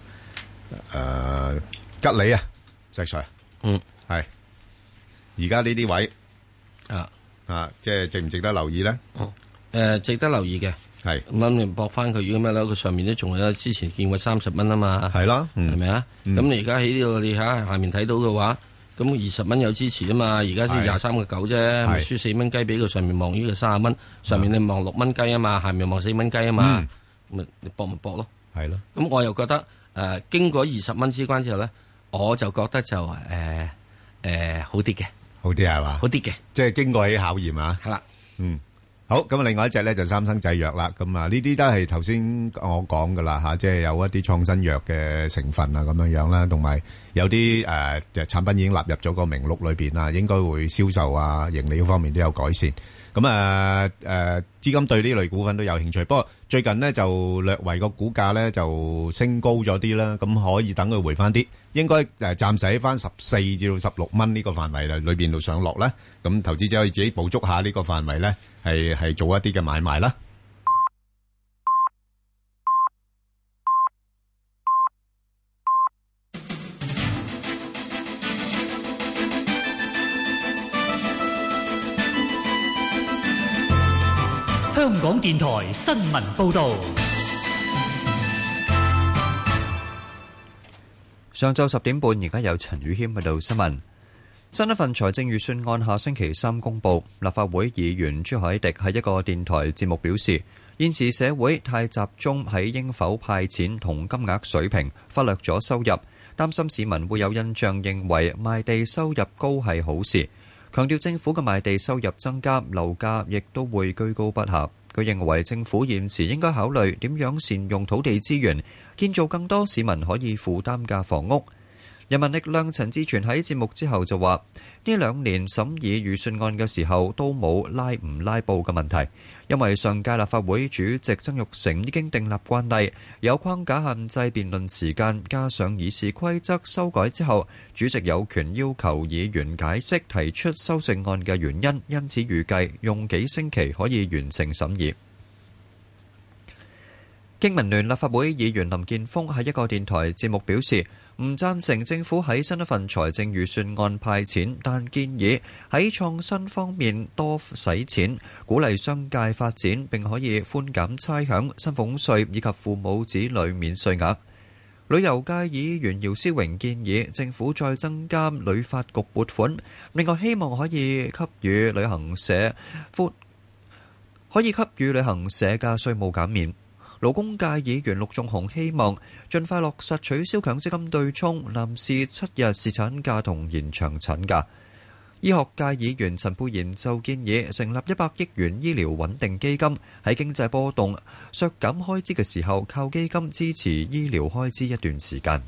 吉利啊，石 Sir，係而家呢啲位即係值唔值得留意咧？ 值得留意嘅。 係咁你搏翻佢咁樣啦，佢上面都仲有之前見過30蚊啊嘛， 係咯， 係咪啊？咁你而家喺呢度你下面睇到嘅話，咁20蚊有支持啊嘛，而家先23.9啫，咪輸4蚊雞俾佢上面望呢個30蚊，上面你望6蚊雞啊嘛，下面望4蚊雞啊嘛，咁你搏咪搏咯， 係咯。 咁我又覺得經過20蚊之關之後咧，我就覺得就好啲嘅， 好啲係嘛？ 好啲嘅， 即係經過起考驗啊。 係啦， 好，咁啊，另外一隻咧就三生製藥啦，咁啊呢啲都係頭先我講噶啦即係有一啲創新藥嘅成分啊咁樣樣啦，同埋有啲產品已經納入咗個名錄裏邊啦，應該會銷售啊盈利方面都有改善。咁資金對呢類股份都有興趣，不過最近呢就略為個股價咧就升高咗啲啦，咁可以等佢回翻啲，應該暫時喺翻14至到16蚊呢個範圍裏邊度上落啦。咁投資者可以自己捕捉下呢個範圍咧，係做一啲嘅買賣啦。 香港電台新聞報道。 上晝10點半，而家有陳宇謙報道新聞。新一份財政預算案下星期三公布。立法會議員朱凱廸喺一個電台節目表示，現時社會太集中喺應否派錢同金額水平，忽略咗收入，擔心市民會有印象認為賣地收入高係好事。強調政府嘅賣地收入增加，樓價亦都會居高不下。佢認為政府現時應該考慮點樣善用土地資源，建造更多市民可以負擔嘅房屋。人民力量陳志全喺節目之後就話，呢2年審議預算案嘅時候都冇拉唔拉布嘅問題，因為上屆立法會主席曾鈺成已經訂立慣例，有框架限制辯論時間，加上議事規則修改之後，主席有權要求議員解釋提出修正案嘅原因，因此預計用幾星期可以完成審議。經民聯立法會議員林健鋒喺一個電台節目表示，唔贊成政府喺新一份財政預算案派錢，但建議喺創新方面多使錢，鼓勵商界發展，並可以寬減差餉、薪俸稅以及父母子女免稅額。旅遊界議員姚思榮建議政府再增加旅發局撥款，另外希望可以給予旅行社嘅稅務減免。勞工界議員陸頌雄希望盡快落實取消強積金對沖、男士7日侍產假同延長產假。醫學界議員陳沛然就建議成立100億元醫療穩定基金，喺經濟波動削減開支嘅時候，靠基金支持醫療開支一段時間。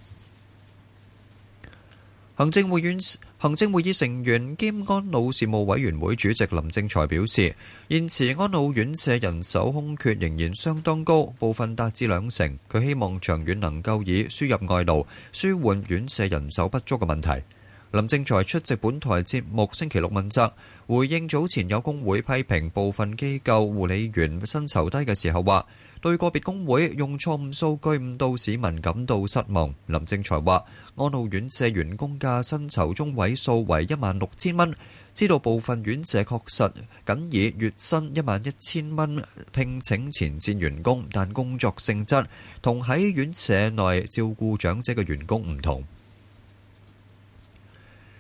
行政會議成員兼安老事務委員會主席林正財表示，現時安老院舍人手空缺仍然相當高，部分達至20%。佢希望長遠能夠以輸入外勞舒緩院舍人手不足嘅問題。林正財出席本台節目星期六問責，回應早前有工會批評部分機構護理員薪酬低嘅時候話，對個別工會用錯誤數據誤導市民感到失望。林正財話，安老院舍員工嘅薪酬中位數為16,000蚊，知道部分院舍確實僅以月薪11,000蚊聘請前線員工，但工作性質同喺院舍內照顧長者嘅員工唔同。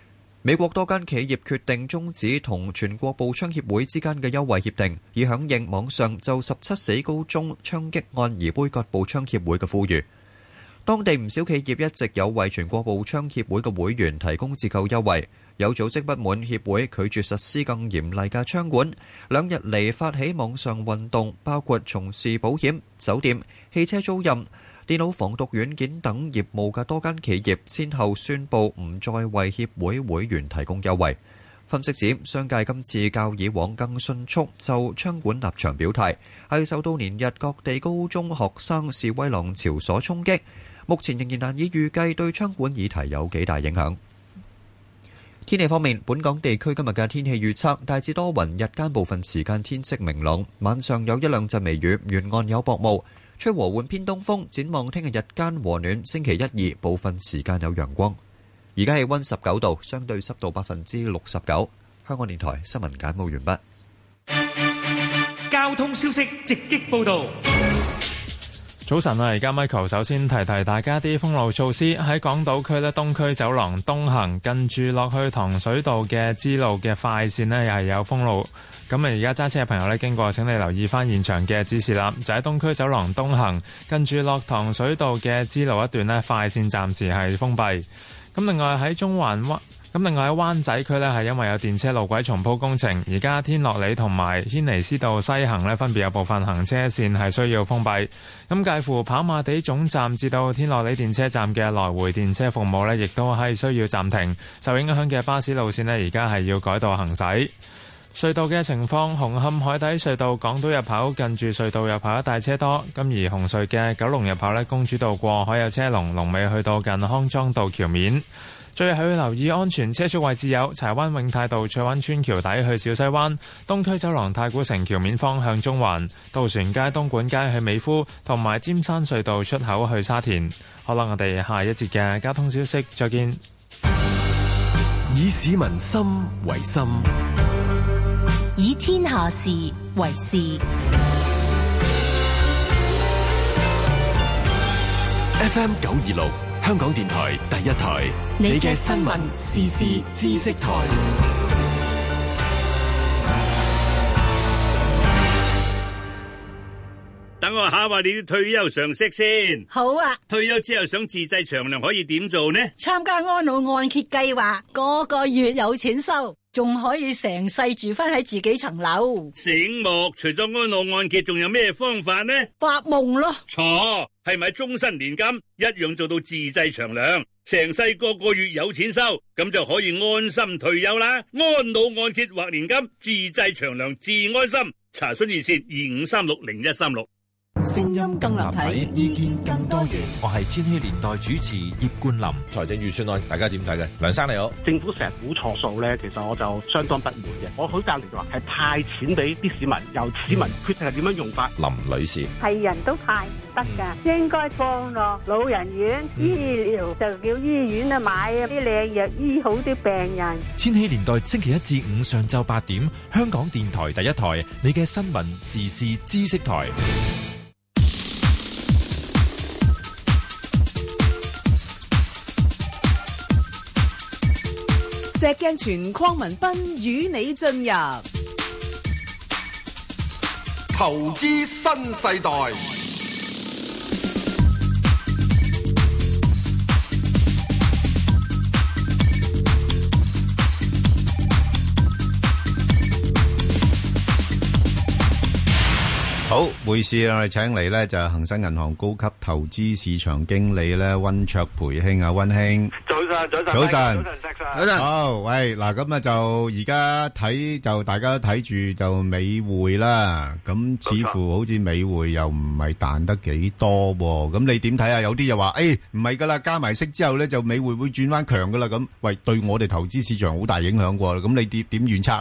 美國多間企業決定終止同全國步槍協會之間嘅優惠協定，以響應網上就17死高中槍擊案而杯葛步槍協會嘅呼籲。當地唔少企業一直有為全國步槍協會嘅會員提供折扣優惠，有組織不滿協會拒絕實施更嚴厲嘅槍管。2日嚟發起網上運動，包括從事保險、酒店、汽車租賃、電腦防毒軟件等業務嘅多間企業，先後宣布唔再為協會會員提供優惠。分析指，商界今次較以往更迅速就槍管立場表態，係受到連日各地高中學生示威浪潮所衝擊。目前仍然難以預計對槍管議題有幾大影響。天氣方面，本港地區今日嘅天氣預測大致多雲，日間部分時間天色明朗，晚上有一兩陣微雨，沿岸有薄霧，吹和緩偏東風。展望聽日日間和暖，星期1、2部分時間有陽光。而家氣溫19度，相對濕度69%。香港電台新聞簡報完畢。 交通消息直擊報道。 早晨啊，而家 Michael 首先提提大家啲封路措施。喺港島區咧，東區走廊東行近住落去糖水道嘅支路嘅快線咧，又係有封路。咁啊，而家揸車嘅朋友咧，經過請你留意翻現場嘅指示啦。就喺東區走廊東行近住落糖水道嘅支路一段咧，快線暫時係封閉。咁另外喺另外喺灣仔區呢，係因為有電車路軌重鋪工程，而家天樂里同埋軒尼詩道西行呢，分別有部分行車線係需要封閉。咁介乎跑馬地總站至到天樂里電車站嘅來回電車服務呢，亦都係需要暫停。受影響嘅巴士路線呢，而家係要改道行駛。隧道嘅情況，紅磡海底隧道港島入口近住隧道入口一帶車多，咁而紅隧嘅九龍入口呢，公主道過海有車龍，龍尾去到近康莊道橋面。最後要留意安全車速位置有柴灣永泰道翠灣村橋底去小西灣、東區走廊太古城橋面方向中環、渡船街東莞街去美孚，同埋尖山隧道出口去沙田。好啦，我哋下一節嘅交通消息再見。 以市民心為心， 以天下事為事。 FM 926香港電台第一台，你嘅新聞時事知識台。 等我考下你啲退休常識先。 好啊。 退休之後想自製長糧可以點做呢？ 參加安老按揭計劃，個月有錢收，仲可以成世住翻喺自己層樓。 醒目，除咗安老按揭，仲有咩方法呢？ 發夢咯。 錯，係咪終身年金一樣做到自製長糧，成世個月有錢收，咁就可以安心退休啦。安老按揭或年金，自製長糧自安心。查詢熱線25360136。 聲音更立體，意見更多元。 我係千禧年代主持葉冠霖。 財政預算案大家點睇嘅？梁生你好。 政府成日估錯數咧，其實我就相當不滿嘅。我好贊成話係派錢俾啲市民，由市民決定係點樣用法。 林女士， 係人都派唔得㗎，應該放落老人院、醫療就叫醫院啊，買啲靚藥醫好啲病人。 千禧年代星期一至五上晝8點，香港電台第一台，你嘅新聞時事知識台。 石鏡泉鄺民彬與你進入投資新世代。 好，匯市我哋請嚟咧就係恒生銀行高級投資市場經理咧溫灼培兄啊，溫兄。早晨。好，喂，嗱咁啊就而家睇就大家都睇住就美匯啦，咁似乎好似美匯又唔係彈得幾多喎，咁你點睇啊？有啲就話唔係噶啦，加埋息之後咧就美匯會轉翻強噶啦，咁喂對我哋投資市場好大影響喎，咁你點預測咧？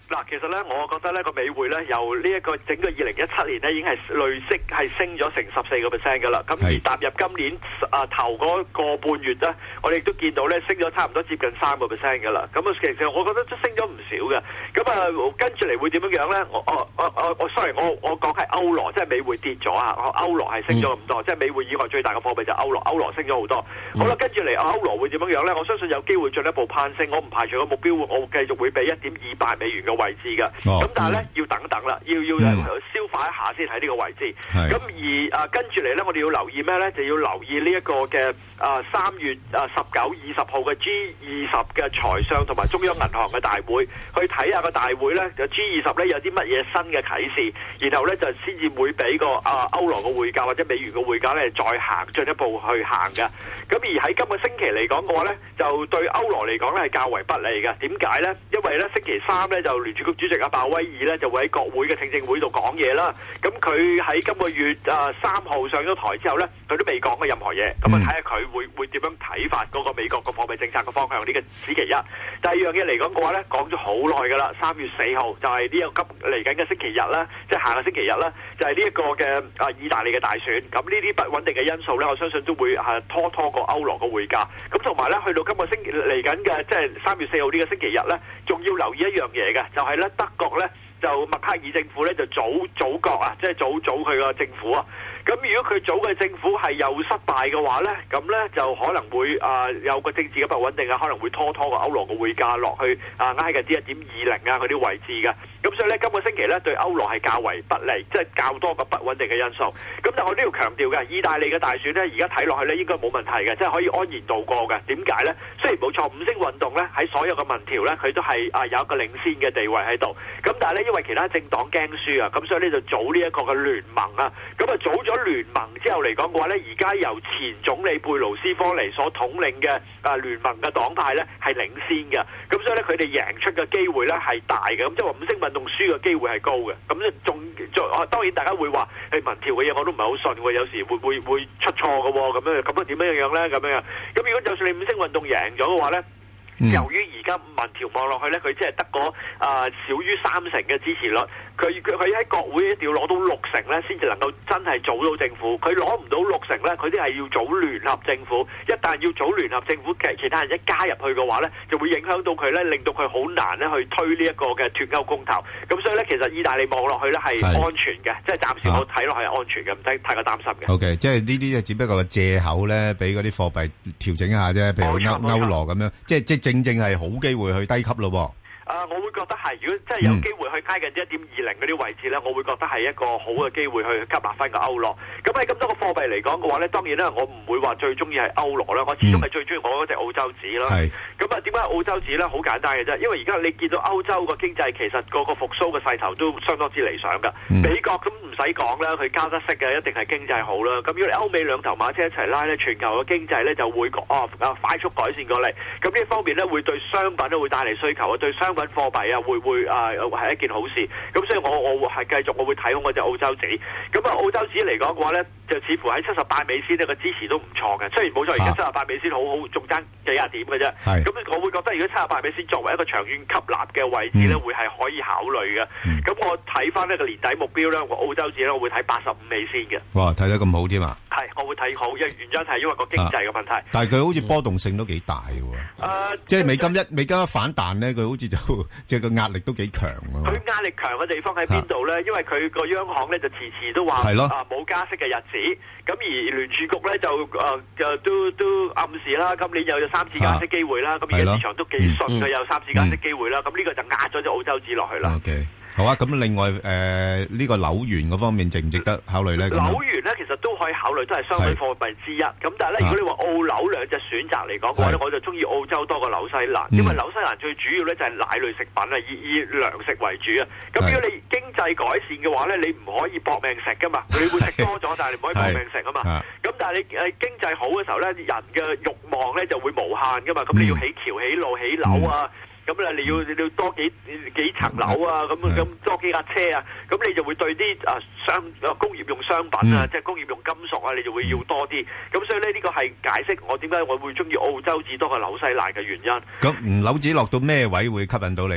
嗱，其實咧，我覺得咧個美匯咧由呢一個整個2017年咧已經係累積係升咗成14%㗎啦。咁而踏入今年頭嗰個半月咧，我哋亦都見到咧升咗差唔多接近3%㗎啦。咁其實我覺得都升咗唔少嘅。咁跟住嚟會點樣樣咧？sorry，我講係歐羅，即係美匯跌咗啊！歐羅係升咗咁多，即係美匯以外最大嘅貨幣就歐羅，歐羅升咗好多。好啦，跟住嚟歐羅會點樣樣咧？我相信有機會進一步攀升，我唔排除個目標，我繼續會俾1.28美元嘅位置嘅。咁但係咧要等等啦，要消化一下先喺呢個位置。咁而跟住嚟咧，我哋要留意咩咧？就要留意呢一個嘅3月19、20號嘅 G20 嘅財相同埋中央銀行嘅大會，去睇下個大會咧G20咧有啲乜嘢新嘅啟示，然後咧就先至會俾個歐羅嘅匯價或者美元嘅匯價咧再進一步去行嘅。咁而喺今個星期嚟講嘅話咧，就對歐羅嚟講咧係較為不利嘅。點解咧？因為咧星期三咧就聯儲局主席鮑威爾咧就會喺國會嘅聽證會度講嘢啦。咁佢喺今個月3號上咗台之後咧，佢都未講過任何嘢。咁睇下佢會點樣睇法嗰個美國個貨幣政策嘅方向。呢個此其一。第二樣嘢嚟講嘅話咧，講咗好耐㗎啦。3月4號就係呢個急嚟緊嘅星期日啦，即係下個星期日啦，就係呢一個嘅意大利嘅大選。咁呢啲不穩定嘅因素咧，我相信都會拖個歐羅嘅匯價。咁同埋咧，去到今個星期嚟緊嘅即係3月4號呢個星期日咧，仲要留意一樣嘢嘅，就係咧德國咧就默克爾政府咧就組閣啊，即係組佢個政府啊。咁如果佢組嘅政府係又失敗嘅話咧，咁咧就可能會有個政治嘅不穩定啊，可能會拖個歐羅嘅匯價落去挨近啲1.20啊嗰啲位置嘅。咁所以咧今個星期咧對歐羅係較為不利，即係較多個不穩定嘅因素。咁但係我都要強調嘅，意大利嘅大選咧而家睇落去咧應該冇問題嘅，即係可以安然度過嘅。點解咧？雖然冇錯，五星運動咧喺所有嘅民調咧佢都係有一個領先嘅地位喺度。咁但係咧因為其他政黨驚輸啊，咁所以咧就組呢一個嘅聯盟啊。咁組咗聯盟之後嚟講嘅話咧，而家由前總理貝盧斯科尼所統領嘅聯盟嘅黨派咧係領先嘅。咁所以咧佢哋贏出嘅機會咧係大嘅。咁即係話五星運動輸嘅機會係高嘅。咁咧仲當然大家會話係民調嘅嘢我都唔係好信喎，有時會出錯嘅喎。咁點樣咧？咁如果就算你五星運動贏咗嘅話咧，由於而家民調望落去咧，佢只係得個少於3成嘅支持率。佢喺國會一定要攞到6成咧，先至能夠真係組到政府。佢攞唔到6成咧，佢啲係要組聯合政府。一旦要組聯合政府，其他人一加入去嘅話咧，就會影響到佢咧，令到佢好難咧去推呢一個嘅脫歐公投。咁所以咧，其實意大利望落去咧係安全嘅，即係暫時我睇落去係安全嘅，唔使太過擔心嘅。 OK， 即係呢啲只不過係藉口咧，俾嗰啲貨幣調整一下啫。譬如歐羅咁樣，即係正正係好機會去低級咯。 我會覺得係，如果真係有機會去挨近1.20嗰啲位置咧，我會覺得係一個好嘅機會去吸納翻個歐羅。咁喺咁多個貨幣嚟講嘅話咧，當然咧我唔會話最中意係歐羅啦，我始終係最中意我嗰隻澳洲紙啦。咁點解澳洲紙咧？好簡單嘅啫，因為而家你見到歐洲個經濟其實個復甦嘅勢頭都相當之理想㗎。美國咁唔使講啦，佢加得息嘅一定係經濟好啦。咁如果你歐美兩頭馬車一齊拉咧，全球嘅經濟咧就會快速改善過嚟。咁呢一方面咧會對商品咧會帶嚟需求啊，對商品貨幣啊會係一件好事。咁所以我係繼續我會睇好我隻澳洲紙。咁澳洲紙嚟講嘅話咧，就似乎喺78美仙呢個支持都唔錯嘅。雖然冇錯，而家78美仙好仲爭幾廿點嘅啫。咁我會覺得如果78美仙作為一個長遠吸納嘅位置咧，會係可以考慮嘅。咁我睇翻呢個年底目標咧，我澳洲紙咧我會睇85美仙嘅。 哇，睇得咁好添啊！ 係，我會睇好，原因係因為個經濟嘅問題。 但係佢好似波動性都幾大嘅。即係美金一反彈咧，佢好似即係個壓力都幾強啊。 佢壓力強嘅地方喺邊度咧？因為佢個央行咧就遲都話冇加息嘅日子。咁而聯儲局咧就都暗示啦，今年又有3次加息機會啦。咁而家市場都幾信佢有3次加息機會啦。咁呢個就壓咗隻澳洲紙落去啦。 好啊，咁另外呢個紐元嗰方面值唔值得考慮咧？ 紐元咧其實都可以考慮，都係商品貨幣之一。咁但係咧，如果你話澳紐兩隻選擇嚟講嘅話咧，我就中意澳洲多過紐西蘭，因為紐西蘭最主要咧就係奶類食品啊，以糧食為主啊。咁如果你經濟改善嘅話咧，你唔可以搏命食噶嘛，你會食多咗，但係你唔可以搏命食啊嘛。咁但係你經濟好嘅時候咧，人嘅慾望咧就會無限噶嘛。咁你要起橋、起路、起樓啊。咁你要多幾層樓啊，咁多幾架車啊，咁你就會對啲工業用商品啊，即係工業用金屬啊，你就會要多啲。咁所以呢個係解釋我點解我會中意澳洲紙多過紐西蘭嘅原因。 咁紐紙落到咩位會吸引到你咧？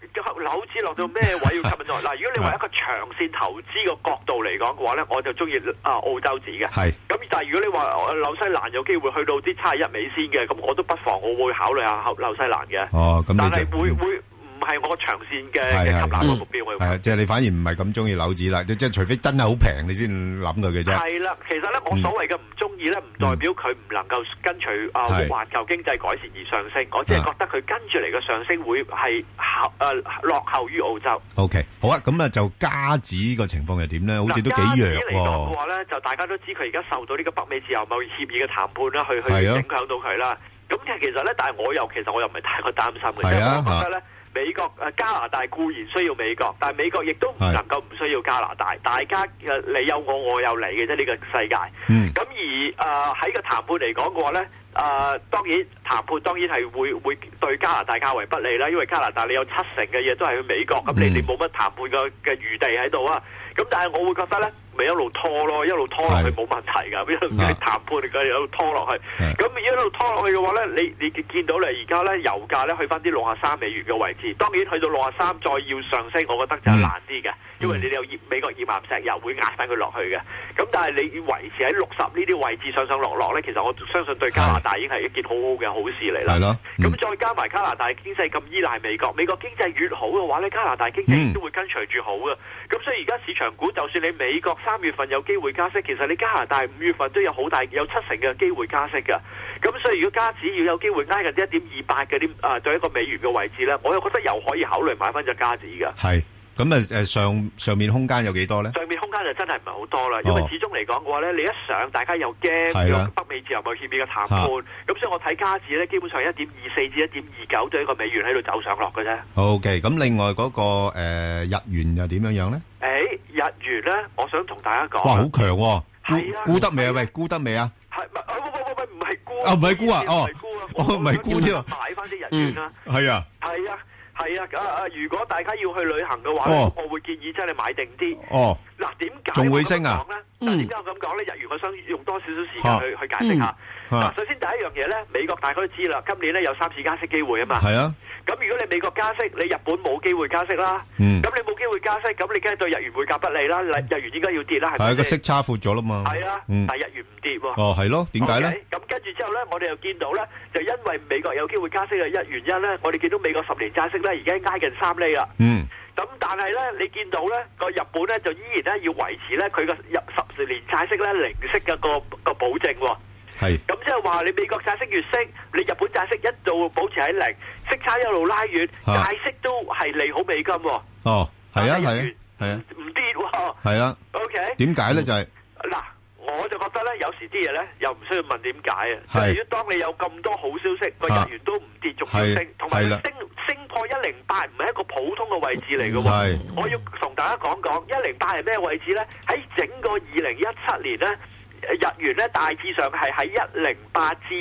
樓指落到咩位要吸引我？嗱，如果你話一個長線投資嘅角度嚟講嘅話咧，我就中意澳洲紙嘅。係。咁但係如果你話紐西蘭有機會去到啲71美仙嘅，咁我都不妨我會考慮下紐西蘭嘅。哦，咁但係會唔係我長線嘅吸納嘅目標。 係啊，即係你反而唔係咁中意樓紙啦，即係除非真係好平，你先諗佢嘅啫。係啦，其實咧，我所謂嘅唔中意咧，唔代表佢唔能夠跟隨環球經濟改善而上升，我只係覺得佢跟住嚟嘅上升會係落後於澳洲。OK， 好啊，咁啊就加紙個情況係點咧？好似都幾弱喎。加紙嚟講嘅話咧，就大家都知佢而家受到呢個北美自由貿易協議嘅談判啦，去影響到佢啦。咁其實咧，但係我又唔係太過擔心嘅，因為我覺得咧。美國加拿大固然需要美國，但係美國亦都唔能夠唔需要加拿大。大家你有我，我有你嘅啫，呢個世界。咁而喺個談判嚟講嘅話咧，當然談判當然係會對加拿大較為不利啦，因為加拿大你有70%嘅嘢都係去美國，咁你哋冇乜談判嘅餘地喺度啊。咁但係我會覺得咧，咪一路拖咯，一路拖落去冇問題㗎，一路談判嚟嘅一路拖落去。咁一路拖落去嘅話咧，你見到咧而家咧油價咧去翻啲63美元嘅位置，當然去到63再要上升，我覺得就難啲嘅，因為你有美國頁岩石油會壓翻佢落去嘅。咁但係你維持喺60呢啲位置上上落落咧，其實我相信對加拿大已經係一件好好嘅好事嚟啦。係咯。咁再加埋加拿大經濟咁依賴美國，美國經濟越好嘅話咧，加拿大經濟都會跟隨住好嘅。咁所以而家市場股就算你美國3月份有機會加息，其實你加拿大5月份都有好大有70%嘅機會加息㗎。咁所以如果加紙要有機會挨近1.28嗰啲對一個美元嘅位置咧，我又覺得又可以考慮買翻隻加紙㗎。係。咁上面空間有幾多咧？上面空間就真係唔係好多啦，因為始終嚟講嘅話咧，你一上大家又驚有北美自由貿易協議嘅談判，咁所以我睇加紙咧，基本上1.24至1.29對一個美元喺度走上落嘅啫。OK， 咁另外嗰個日元又點樣樣咧？日元咧，我想同大家講，哇，好強喎！係啊，沽得未啊？喂，沽得未啊？係喂，唔係沽啊？唔係沽啊？唔係沽添啊！買翻啲日元啦。係啊。係啊。係啊，如果大家要去旅行嘅話咧，我會建議真係買定啲。嗱，點解仲會升啊？點解我咁講咧？日元我想用多少少時間去解釋下。嗱，首先第一樣嘢咧，美國大家都知啦，今年咧有3次加息機會啊嘛。係啊。咁如果你美國加息，你日本冇機會加息啦。咁你冇機會加息，咁你梗係對日元匯價不利啦。日元應該要跌啦，係咪？係個息差闊咗啦嘛。係啊，但係日元唔跌喎。係咯，點解咧？咁跟住之後咧，我哋又見到咧，就因為美國有機會加息嘅原因咧，我哋見到美國10年債息咧而家挨近3厘啦。咁但係咧，你見到咧個日本咧就依然咧要維持咧佢個10年債息咧零息嘅個保證喎。係。咁即係話你美國債息越升，你日本債息一度保持喺0，息差一路拉遠，債息都係利好美金喎。係啊，唔跌喎。係啊。OK。點解咧？就係嗱，我就覺得咧，有時啲嘢咧又唔需要問點解啊。係。如果當你有咁多好消息，個日元都唔跌，仲要升，同埋升破108唔係一個普通嘅位置嚟嘅喎。我要同大家講108係咩位置咧？喺整個2017年咧。日元咧大致上係喺108至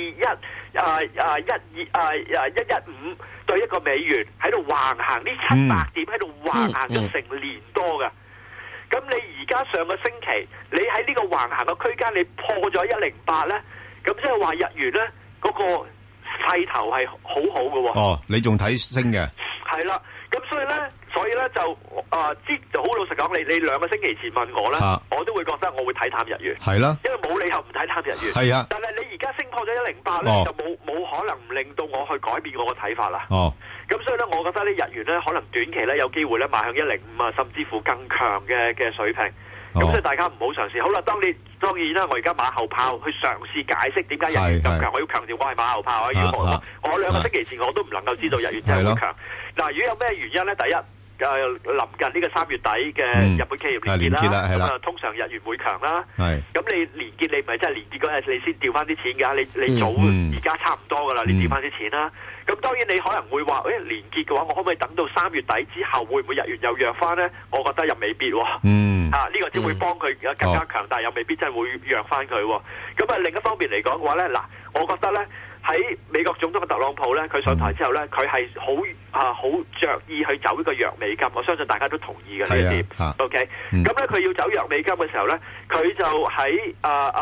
115對一個美元喺度橫行，呢700點喺度橫行咗成年多㗎。咁你而家上個星期，你喺呢個橫行嘅區間，你破咗108咧，咁即係話日元咧嗰個勢頭係好好嘅喎。你仲睇升嘅？係啦，咁所以咧就好老實講，你2個星期前問我咧，我都會覺得我會睇淡日元。係啦，因為冇理由唔睇淡日元。係啊，但係你而家升破咗108咧，就冇可能唔令到我去改變我個睇法啦。咁所以咧，我覺得呢日元咧可能短期咧有機會咧邁向105啊，甚至乎更強嘅水平。咁所以大家唔好嘗試。好啦，當然啦，我而家馬後炮去嘗試解釋點解日元咁強。我要強調我係馬後炮啊！如果我2個星期前我都唔能夠知道日元真係好強。嗱，如果有咩原因咧？第一，臨近呢個3月底嘅日本企業年結啦，咁通常日元會強啦。咁你年結你唔係真係年結嗰日你先調翻啲錢㗎，你早而家差唔多㗎啦，你調翻啲錢啦。咁當然你可能會話，年結嘅話，我可唔可以等到3月底之後，會唔會日元又弱翻咧？我覺得又未必喎。呢個只會幫佢更加強大，又未必真係會弱翻佢。咁另一方面嚟講嘅話咧，嗱，我覺得咧。喺美國總統嘅特朗普咧，佢上台之後咧，佢係好着意去走呢個弱美金，我相信大家都同意嘅呢一點。OK，咁咧佢要走弱美金嘅時候咧，佢就喺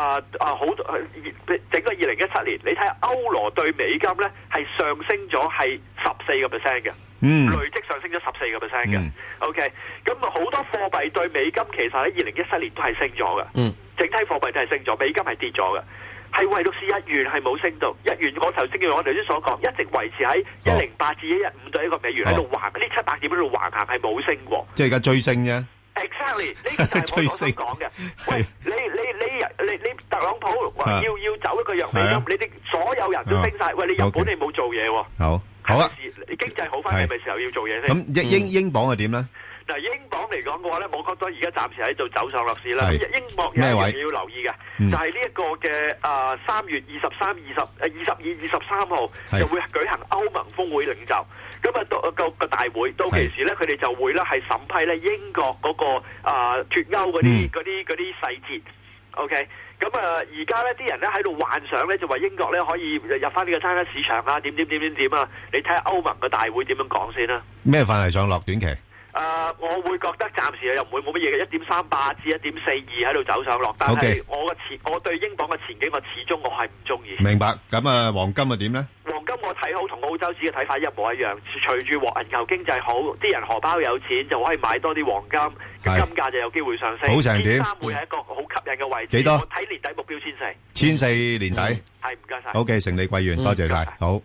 整個2017年，你睇下歐羅對美金咧係上升咗係14%嘅。 累積上升咗14%嘅。OK， 咁好多貨幣對美金其實喺2017年都係升咗嘅。整體貨幣都係升咗，美金係跌咗嘅。係唯獨是日元係冇升到，日元我頭先所講，一直維持喺108至115對一個美元喺度橫，呢700點喺度橫行係冇升過。 即係而家追升啫。 Exactly， 呢個就係我所講嘅。喂，你特朗普話要走一個弱美金，你哋所有人都升晒。喂，你日本你冇做嘢喎。 好啊， 經濟好翻係咪時候要做嘢先？ 咁英鎊係點咧？ 嗱，英鎊嚟講嘅話咧，我覺得而家暫時喺度走上落市啦。英鎊有一樣嘢要留意嘅，就係呢一個嘅3月22、23號就會舉行歐盟峰會領袖。咁啊，個大會到期時咧，佢哋就會咧係審批咧英國嗰個脫歐嗰啲細節。OK， 咁而家咧啲人咧喺度幻想咧，就話英國咧可以入翻呢個單一市場啊，點啊！你睇下歐盟嘅大會點樣講先啦。 咩範圍上落短期？ 我會覺得暫時又唔會冇乜嘢嘅，1.38至1.42喺度走上落，但係我對英鎊嘅前景，我始終係唔中意。 明白。咁啊，黃金啊點咧？ 黃金我睇好，同澳洲市嘅睇法一模一樣。隨住環球經濟好，啲人荷包有錢就可以買多啲黃金，金價就有機會上升。 好成點？ 1,300會係一個好吸引嘅位置。 幾多？ 我睇年底目標1,400。 1,400年底。 係，唔該晒。 OK，成利貴元，多謝晒。好，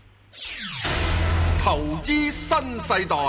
投資新世代。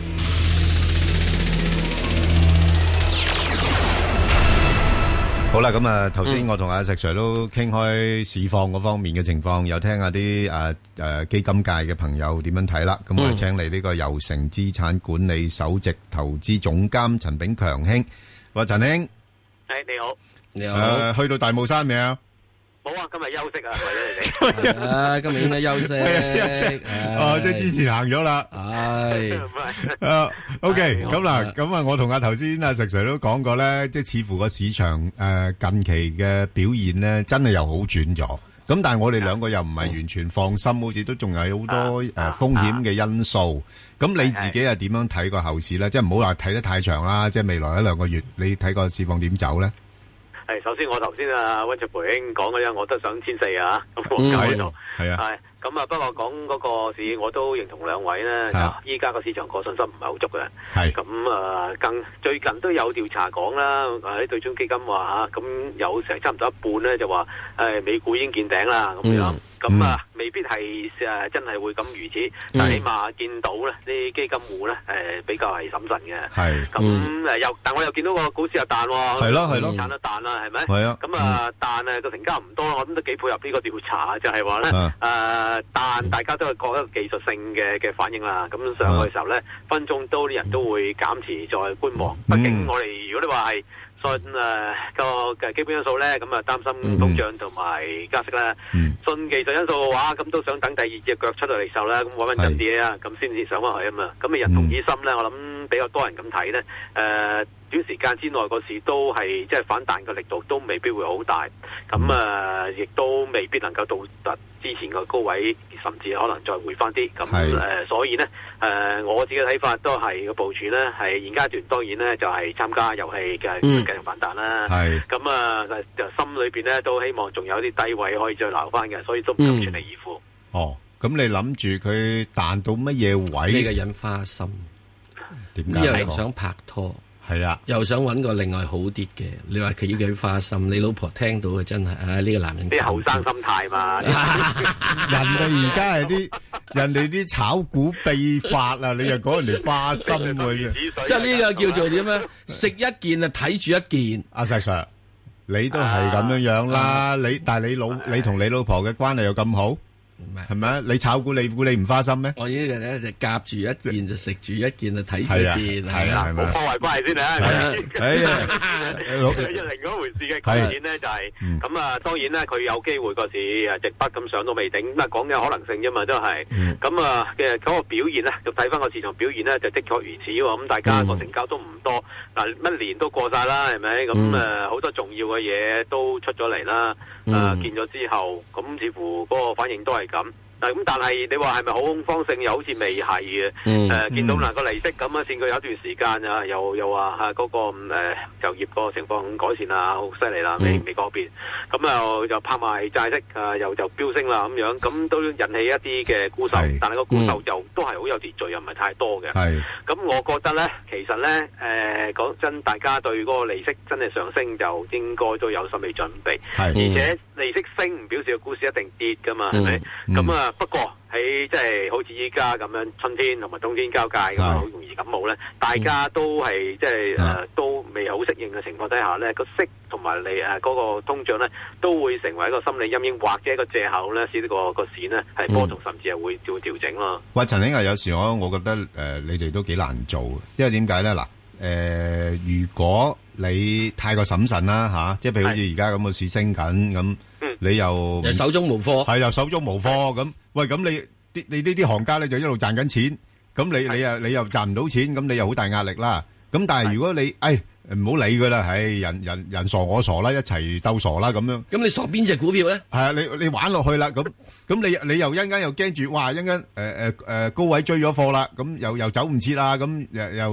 好啦，咁啊，頭先我同阿石 Sir 都傾開市況嗰方面嘅情況，又聽下啲基金界嘅朋友點樣睇啦。咁我哋請嚟呢個悠誠資產管理首席投資總監陳炳強兄。喂，陳兄， 你好， 你好。 去到大帽山未啊？ 冇啊，今日休息啊，為咗你哋。 今日應該休息。 即係之前行咗啦。OK， 咁嗱，咁啊，我同頭先阿石 Sir 都講過咧，即係似乎個市場近期嘅表現咧，真係又好轉咗。咁但係我哋兩個又唔係完全放心，好似都仲有好多風險嘅因素。咁你自己係點樣睇個後市咧？即係唔好話睇得太長啦，即係未來1-2個月，你睇個市況點走咧？ 首先我頭先溫灼培兄講嗰樣，我都想1,400啊，咁我喺度係啊，咁不過講嗰個市，我都認同兩位咧。依家個市場個信心唔係好足嘅，係咁最近都有調查講啦，喺對沖基金話咁有成差唔多一半咧就話美股已經見頂啦咁樣。咁未必係真係會咁如此，但係起碼見到咧啲基金戶咧比較係審慎嘅。係咁但我又見到個股市又彈喎，係咯，彈都彈啦，係咪？係啊。咁彈個成交唔多，我諗都幾配合呢個調查，就係話咧彈大家都係覺得技術性嘅反應啦。咁上去嘅時候咧，分鐘都啲人都會減持再觀望。畢竟我哋如果你話係信個嘅基本因素咧，咁擔心通脹同埋加息咧。信技術因素嘅話，咁都想等第二隻腳出到嚟受啦，咁穩穩陣啲啊，咁先至上翻去啊嘛。咁人同以心咧，我諗比較多人咁睇咧。短時間之內個市都係即係反彈嘅力度都未必會好大，咁亦都未必能夠到達之前個高位，甚至可能再回翻啲。咁所以呢，我自己嘅睇法都係個部署呢，係現階段當然呢就係參加遊戲嘅繼續反彈啦。咁心裏邊呢都希望仲有啲低位可以再留翻嘅，所以都唔敢全力以赴。 哦，咁你諗住佢彈到乜嘢位？ 呢個人花心，點解？又想拍拖。 係啊， 又想揾個另外好啲嘅，你話佢要佢花心，你老婆聽到嘅真係，呢個男人啲後生心態嘛， 人哋而家係人哋啲炒股秘法啊，你又講人哋花心喎， 即係呢個叫做點咧？食一件啊，睇住一件。 阿石 Sir，你都係咁樣啦，但係你同你老婆嘅關係又咁好？係咪啊？你炒股你估你唔花心咩？ 我呢個咧就夾住一件就食住一件就睇住一件，係啦， 冇破壞關係先啊！另一回事嘅講錢咧就係咁啊，當然咧佢有機會個市直筆咁上都未定，咁講嘅可能性啫嘛，都係咁啊嘅嗰個表現咧，就睇翻個市場表現咧，就的確如此喎。咁大家個成交都唔多，嗱一年都過晒啦，係咪？咁好多重要嘅嘢都出咗嚟啦，見咗之後，咁似乎嗰個反應都係咁， 咁但係你話係咪好恐慌性？又好似未係嘅。見到嗱個利息咁啊，見佢有一段時間啊，又話嗰個就業個情況改善啦，好犀利啦，美國嗰邊。咁又拍賣債息又飆升啦咁樣，咁都引起一啲嘅沽售，但係個沽售就都係好有秩序，又唔係太多嘅。咁我覺得咧，其實咧講真，大家對嗰個利息真係上升，就應該都有心理準備。而且利息升唔表示個股市一定跌噶嘛，係咪？咁不過喺即係好似依家咁樣春天同埋冬天交界咁好容易感冒咧，大家都係即係都未好適應嘅情況底下咧，個息同埋你嗰個通脹咧都會成為一個心理陰影或者一個藉口咧，使呢個市呢係波動，甚至係會調整咯。 喂，陳兄啊，有時我覺得你哋都幾難做，因為點解咧？嗱，如果你太過審慎啦嚇，即係譬如好似而家咁個市升緊咁。你又手中無貨， 係又手中無貨咁。喂，咁你呢啲行家咧就一路賺緊錢，咁你又賺唔到錢，咁你又好大壓力啦。咁但係如果你唔好理佢啦，人傻我傻啦，一齊鬥傻啦咁樣。咁你傻邊隻股票咧？係啊，你玩落去啦，咁你又一陣間又驚住，哇！一陣間高位追咗貨啦，咁又走唔切啦，咁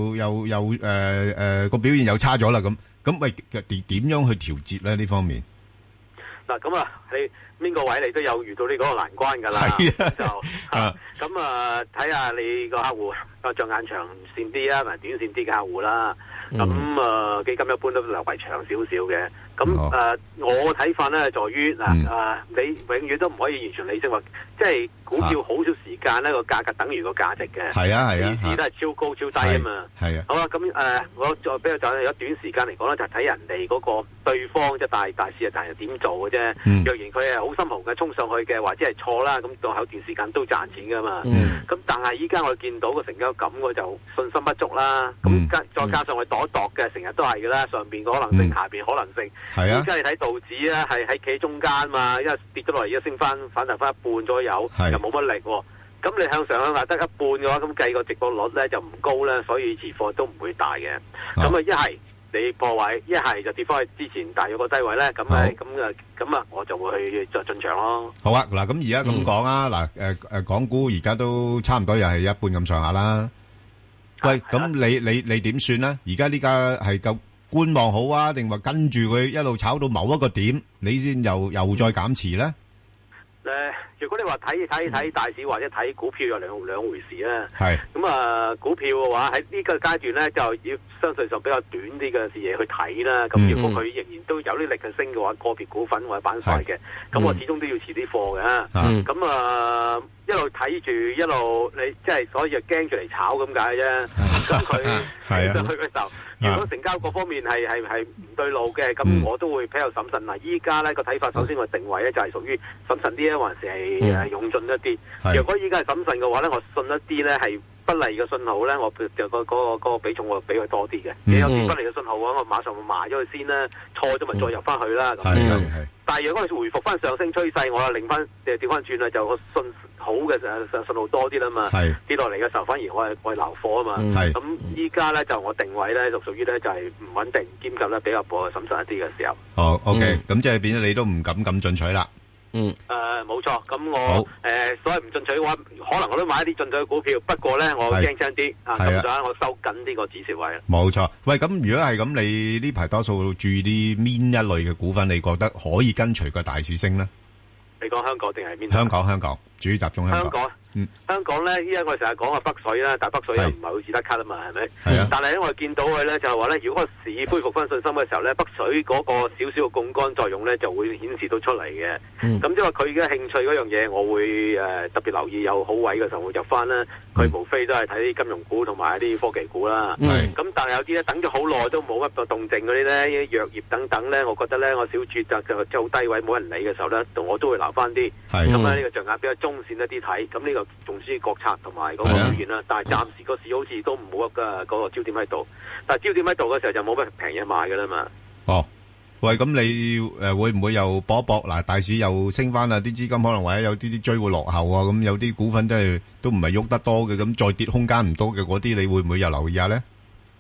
又個表現又差咗啦，咁喂點樣去調節咧呢方面？ 嗱咁你邊個位你都有遇到呢個難關㗎啦，就咁睇下你個客戶着眼長線啲啊，同埋短線啲嘅客戶啦。咁基金一般都留為長少少嘅。咁我睇法咧，在於你永遠都唔可以完全理性話，即係股票好少時間咧個價格等於個價值嘅。係啊係啊，市都係超高超低啊嘛。係啊。好啦，咁我再比較就有短時間嚟講咧，就係睇人哋嗰個對方即係大市啊，大人點做嘅啫。若然佢係好心紅嘅衝上去嘅，或者係錯啦，咁到後段時間都賺錢噶嘛。咁但係依家我見到個成交咁，我就信心不足啦。咁再加上我度一度嘅，成日都係嘅啦，上邊個可能性，下邊可能性。係啊，而家你睇道指咧，係喺企中間嘛，因為跌咗落嚟，而家升翻反彈翻一半左右，又冇乜力。咁你向上向下得一半嘅話，咁計個值博率咧就唔高咧，所以持貨都唔會大嘅。咁一係你破位，一係就跌翻去之前大約個低位咧，咁我就會去再進場咯。好啊，嗱，咁而家咁講啊，嗱，港股而家都差唔多又係一半咁上下啦。喂，咁你點算咧？而家呢家係夠觀望好啊，定話跟住佢一路炒到某一個點，你先又再減持咧？如果你話睇大市或者睇股票有兩回事啦。係咁股票嘅話喺呢個階段咧，就要相對上比較短啲嘅視野去睇啦。咁如果佢仍然都有啲力去升嘅話，個別股份或者板塊嘅，咁我始終都要持啲貨嘅。咁一路睇住一路你即係所以就驚住嚟炒咁解啫。咁佢上去嘅時候，如果成交各方面係唔對路嘅，咁我都會比較審慎。嗱，依家咧個睇法，首先我定位咧就係屬於審慎啲咧，還是係勇進一啲。如果依家係審慎嘅話咧，我信一啲咧係不利嘅信號咧，我就嗰個比重我比佢多啲嘅。你有啲不利嘅信號嘅話，我馬上會賣咗佢先啦，錯咗咪再入翻去啦。但係如果佢回復翻上升趨勢，我又令翻調翻轉啦，就我信好嘅信號多啲啦嘛。跌落嚟嘅時候，反而我係留貨啊嘛。咁依家咧就我定位咧就屬於咧就係唔穩定兼及咧比較審慎一啲嘅時候。哦，OK，咁即係變咗你都唔敢咁進取啦。冇錯，咁我所謂唔進取嘅話，可能我都買一啲進取嘅股票，不過咧我驚輕啲咁就我收緊呢個止蝕位啦。冇錯，喂，咁如果係咁，你呢排多數注意啲邊一類嘅股份，你覺得可以跟隨個大市升咧？你講香港定係邊？香港，主要集中香港。香港咧，依家我哋成日講話北水啦，但係北水又唔係好似得卡啊嘛，係咪？係啊。但係咧，我見到佢咧就係話咧，如果個市恢復翻信心嘅時候咧，北水嗰個少少嘅槓桿作用咧就會顯示到出嚟嘅。咁即係話佢嘅興趣嗰樣嘢，我會特別留意有好位嘅時候會入翻啦。佢無非都係睇啲金融股同埋一啲科技股啦。咁但係有啲咧等咗好耐都冇乜個動靜嗰啲咧，藥業等等咧，我覺得咧我小注就即係好低位冇人理嘅時候咧，我都會留翻啲。咁呢個象眼比較中線一啲睇，咁呢個重視國策同埋嗰個表現啦。但係暫時個市好似都冇嗰個焦點喺度，但係焦點喺度嘅時候就冇乜平嘢買㗎啦嘛。哦，喂，咁你會唔會又搏一搏？嗱，大市又升翻啦，啲資金可能或者有啲追會落後啊，咁有啲股份都唔係喐得多嘅，咁再跌空間唔多嘅嗰啲，你會唔會又留意下咧？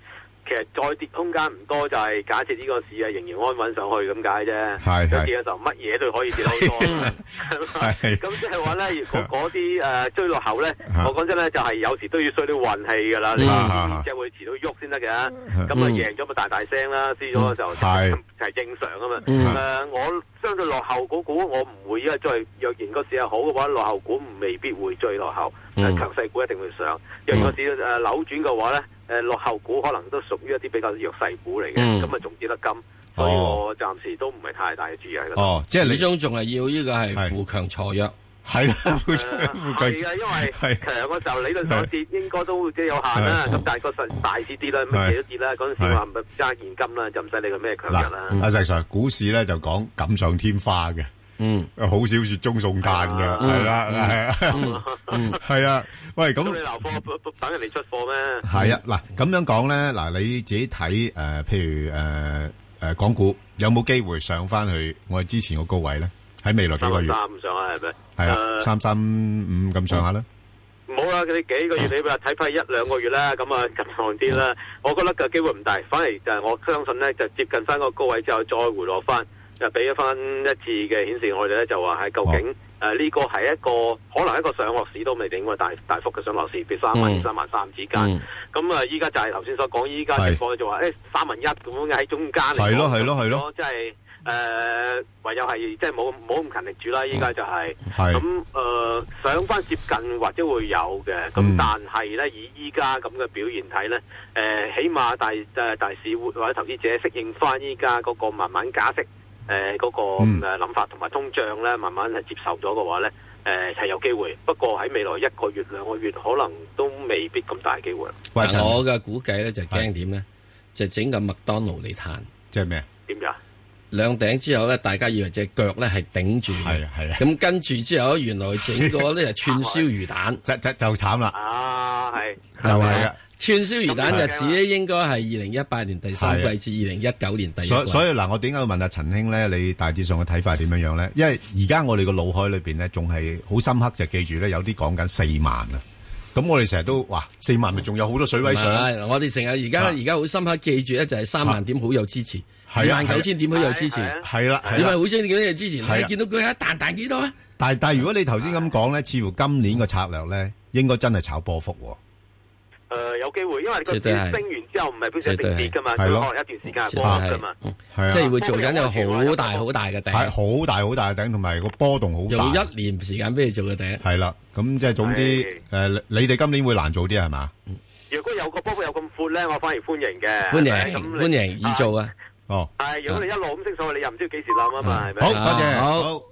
其實再跌空間唔多，就係假設呢個市啊仍然安穩上去咁解啫。 係跌嘅時候乜嘢都可以跌好多。咁即係話咧，如果嗰啲追落後咧，我講真咧就係有時都要需啲運氣㗎啦。你即係會遲到喐先得嘅。咁贏咗咪大大聲啦，輸咗就係正常啊嘛。我相對落後股我唔會，因為若然個市係好嘅話，落後股未必會追落後。強勢股一定會上。若然個市扭轉嘅話咧，落後股可能都屬於一啲比較弱勢股嚟嘅，咁啊仲跌得金，所以我暫時都唔係太大嘅注意喺度。 即係始終仲係要呢個係扶強鋤弱。 係啦， 係啊，因為強嘅時候理論上跌應該都即係有限啦。咁但係個大市跌啦，乜嘢都跌啦。嗰陣時話咪揸現金啦，就唔使理佢咩強弱啦。 阿石 Sir，股市咧就講錦上添花嘅。好少雪中送炭嘅，係啦，係啊，喂，咁你留貨等人哋出貨咩？ 係啊，嗱，咁樣講咧，嗱，你自己睇譬如港股有冇機會上翻去我哋之前個高位咧？喺未來幾個月 3上下係咪？ 係啊，335咁上下啦。 唔好啦，你幾個月你話睇翻1-2個月啦，咁啊近行啲啦。我覺得個機會唔大，反而就係我相信咧，就接近翻個高位之後再回落翻。就俾咗翻一次嘅顯示，我哋咧就話係究竟呢個係一個可能一個上落市都未定嘅大幅嘅上落市，譬如30000-33000之間。咁啊，依家就係頭先所講，依家情況就話1/3咁樣喺中間嚟。 係咯， 即係唯有係即係冇咁勤力住啦。依家就係咁上翻接近或者會有嘅。咁但係咧，以依家咁嘅表現睇咧，起碼大市或者投資者適應翻依家嗰個慢慢加息。嗰個諗法同埋通脹咧，慢慢係接受咗嘅話咧，係有機會。不過喺未來1個月、2個月，可能都未必咁大機會。 我嘅估計咧就驚點咧，就整個麥當勞嚟彈。 即係咩？ 點㗎？ 兩頂之後咧，大家以為隻腳咧係頂住嘅。係啊。咁跟住之後，原來整個咧係串燒魚蛋， 就慘啦。 係。 就係啊。 串燒魚蛋日子咧，應該係2018年第三季至2019年第一季。 所以嗱，我點解要問阿陳兄咧？你大致上嘅睇法係點樣樣咧？因為而家我哋個腦海裏邊咧，仲係好深刻，就記住咧，有啲講緊4萬啊。咁我哋成日都話4萬咪仲有好多水位上。 我哋成日而家好深刻記住咧，就係3萬點好有支持，29000點好有支持。係啦，你咪好清楚幾多有支持？你見到佢一彈幾多啊？ 但係如果你頭先咁講咧，似乎今年個策略咧，應該真係炒波幅。 有機會，因為個市升完之後唔係表示一定跌噶嘛，佢可能一段時間係波幅噶嘛， 即係會做緊一個好大嘅頂， 係好大嘅頂，同埋個波動好大， 用1年時間俾你做嘅頂。 係啦，咁即係總之，你哋今年會難做啲係嘛？ 如果有個波幅有咁闊咧，我反而歡迎嘅， 歡迎易做啊！ 哦， 係如果你一路咁升上去，你又唔知幾時冧啊嘛，係咪？ 好，多謝，好。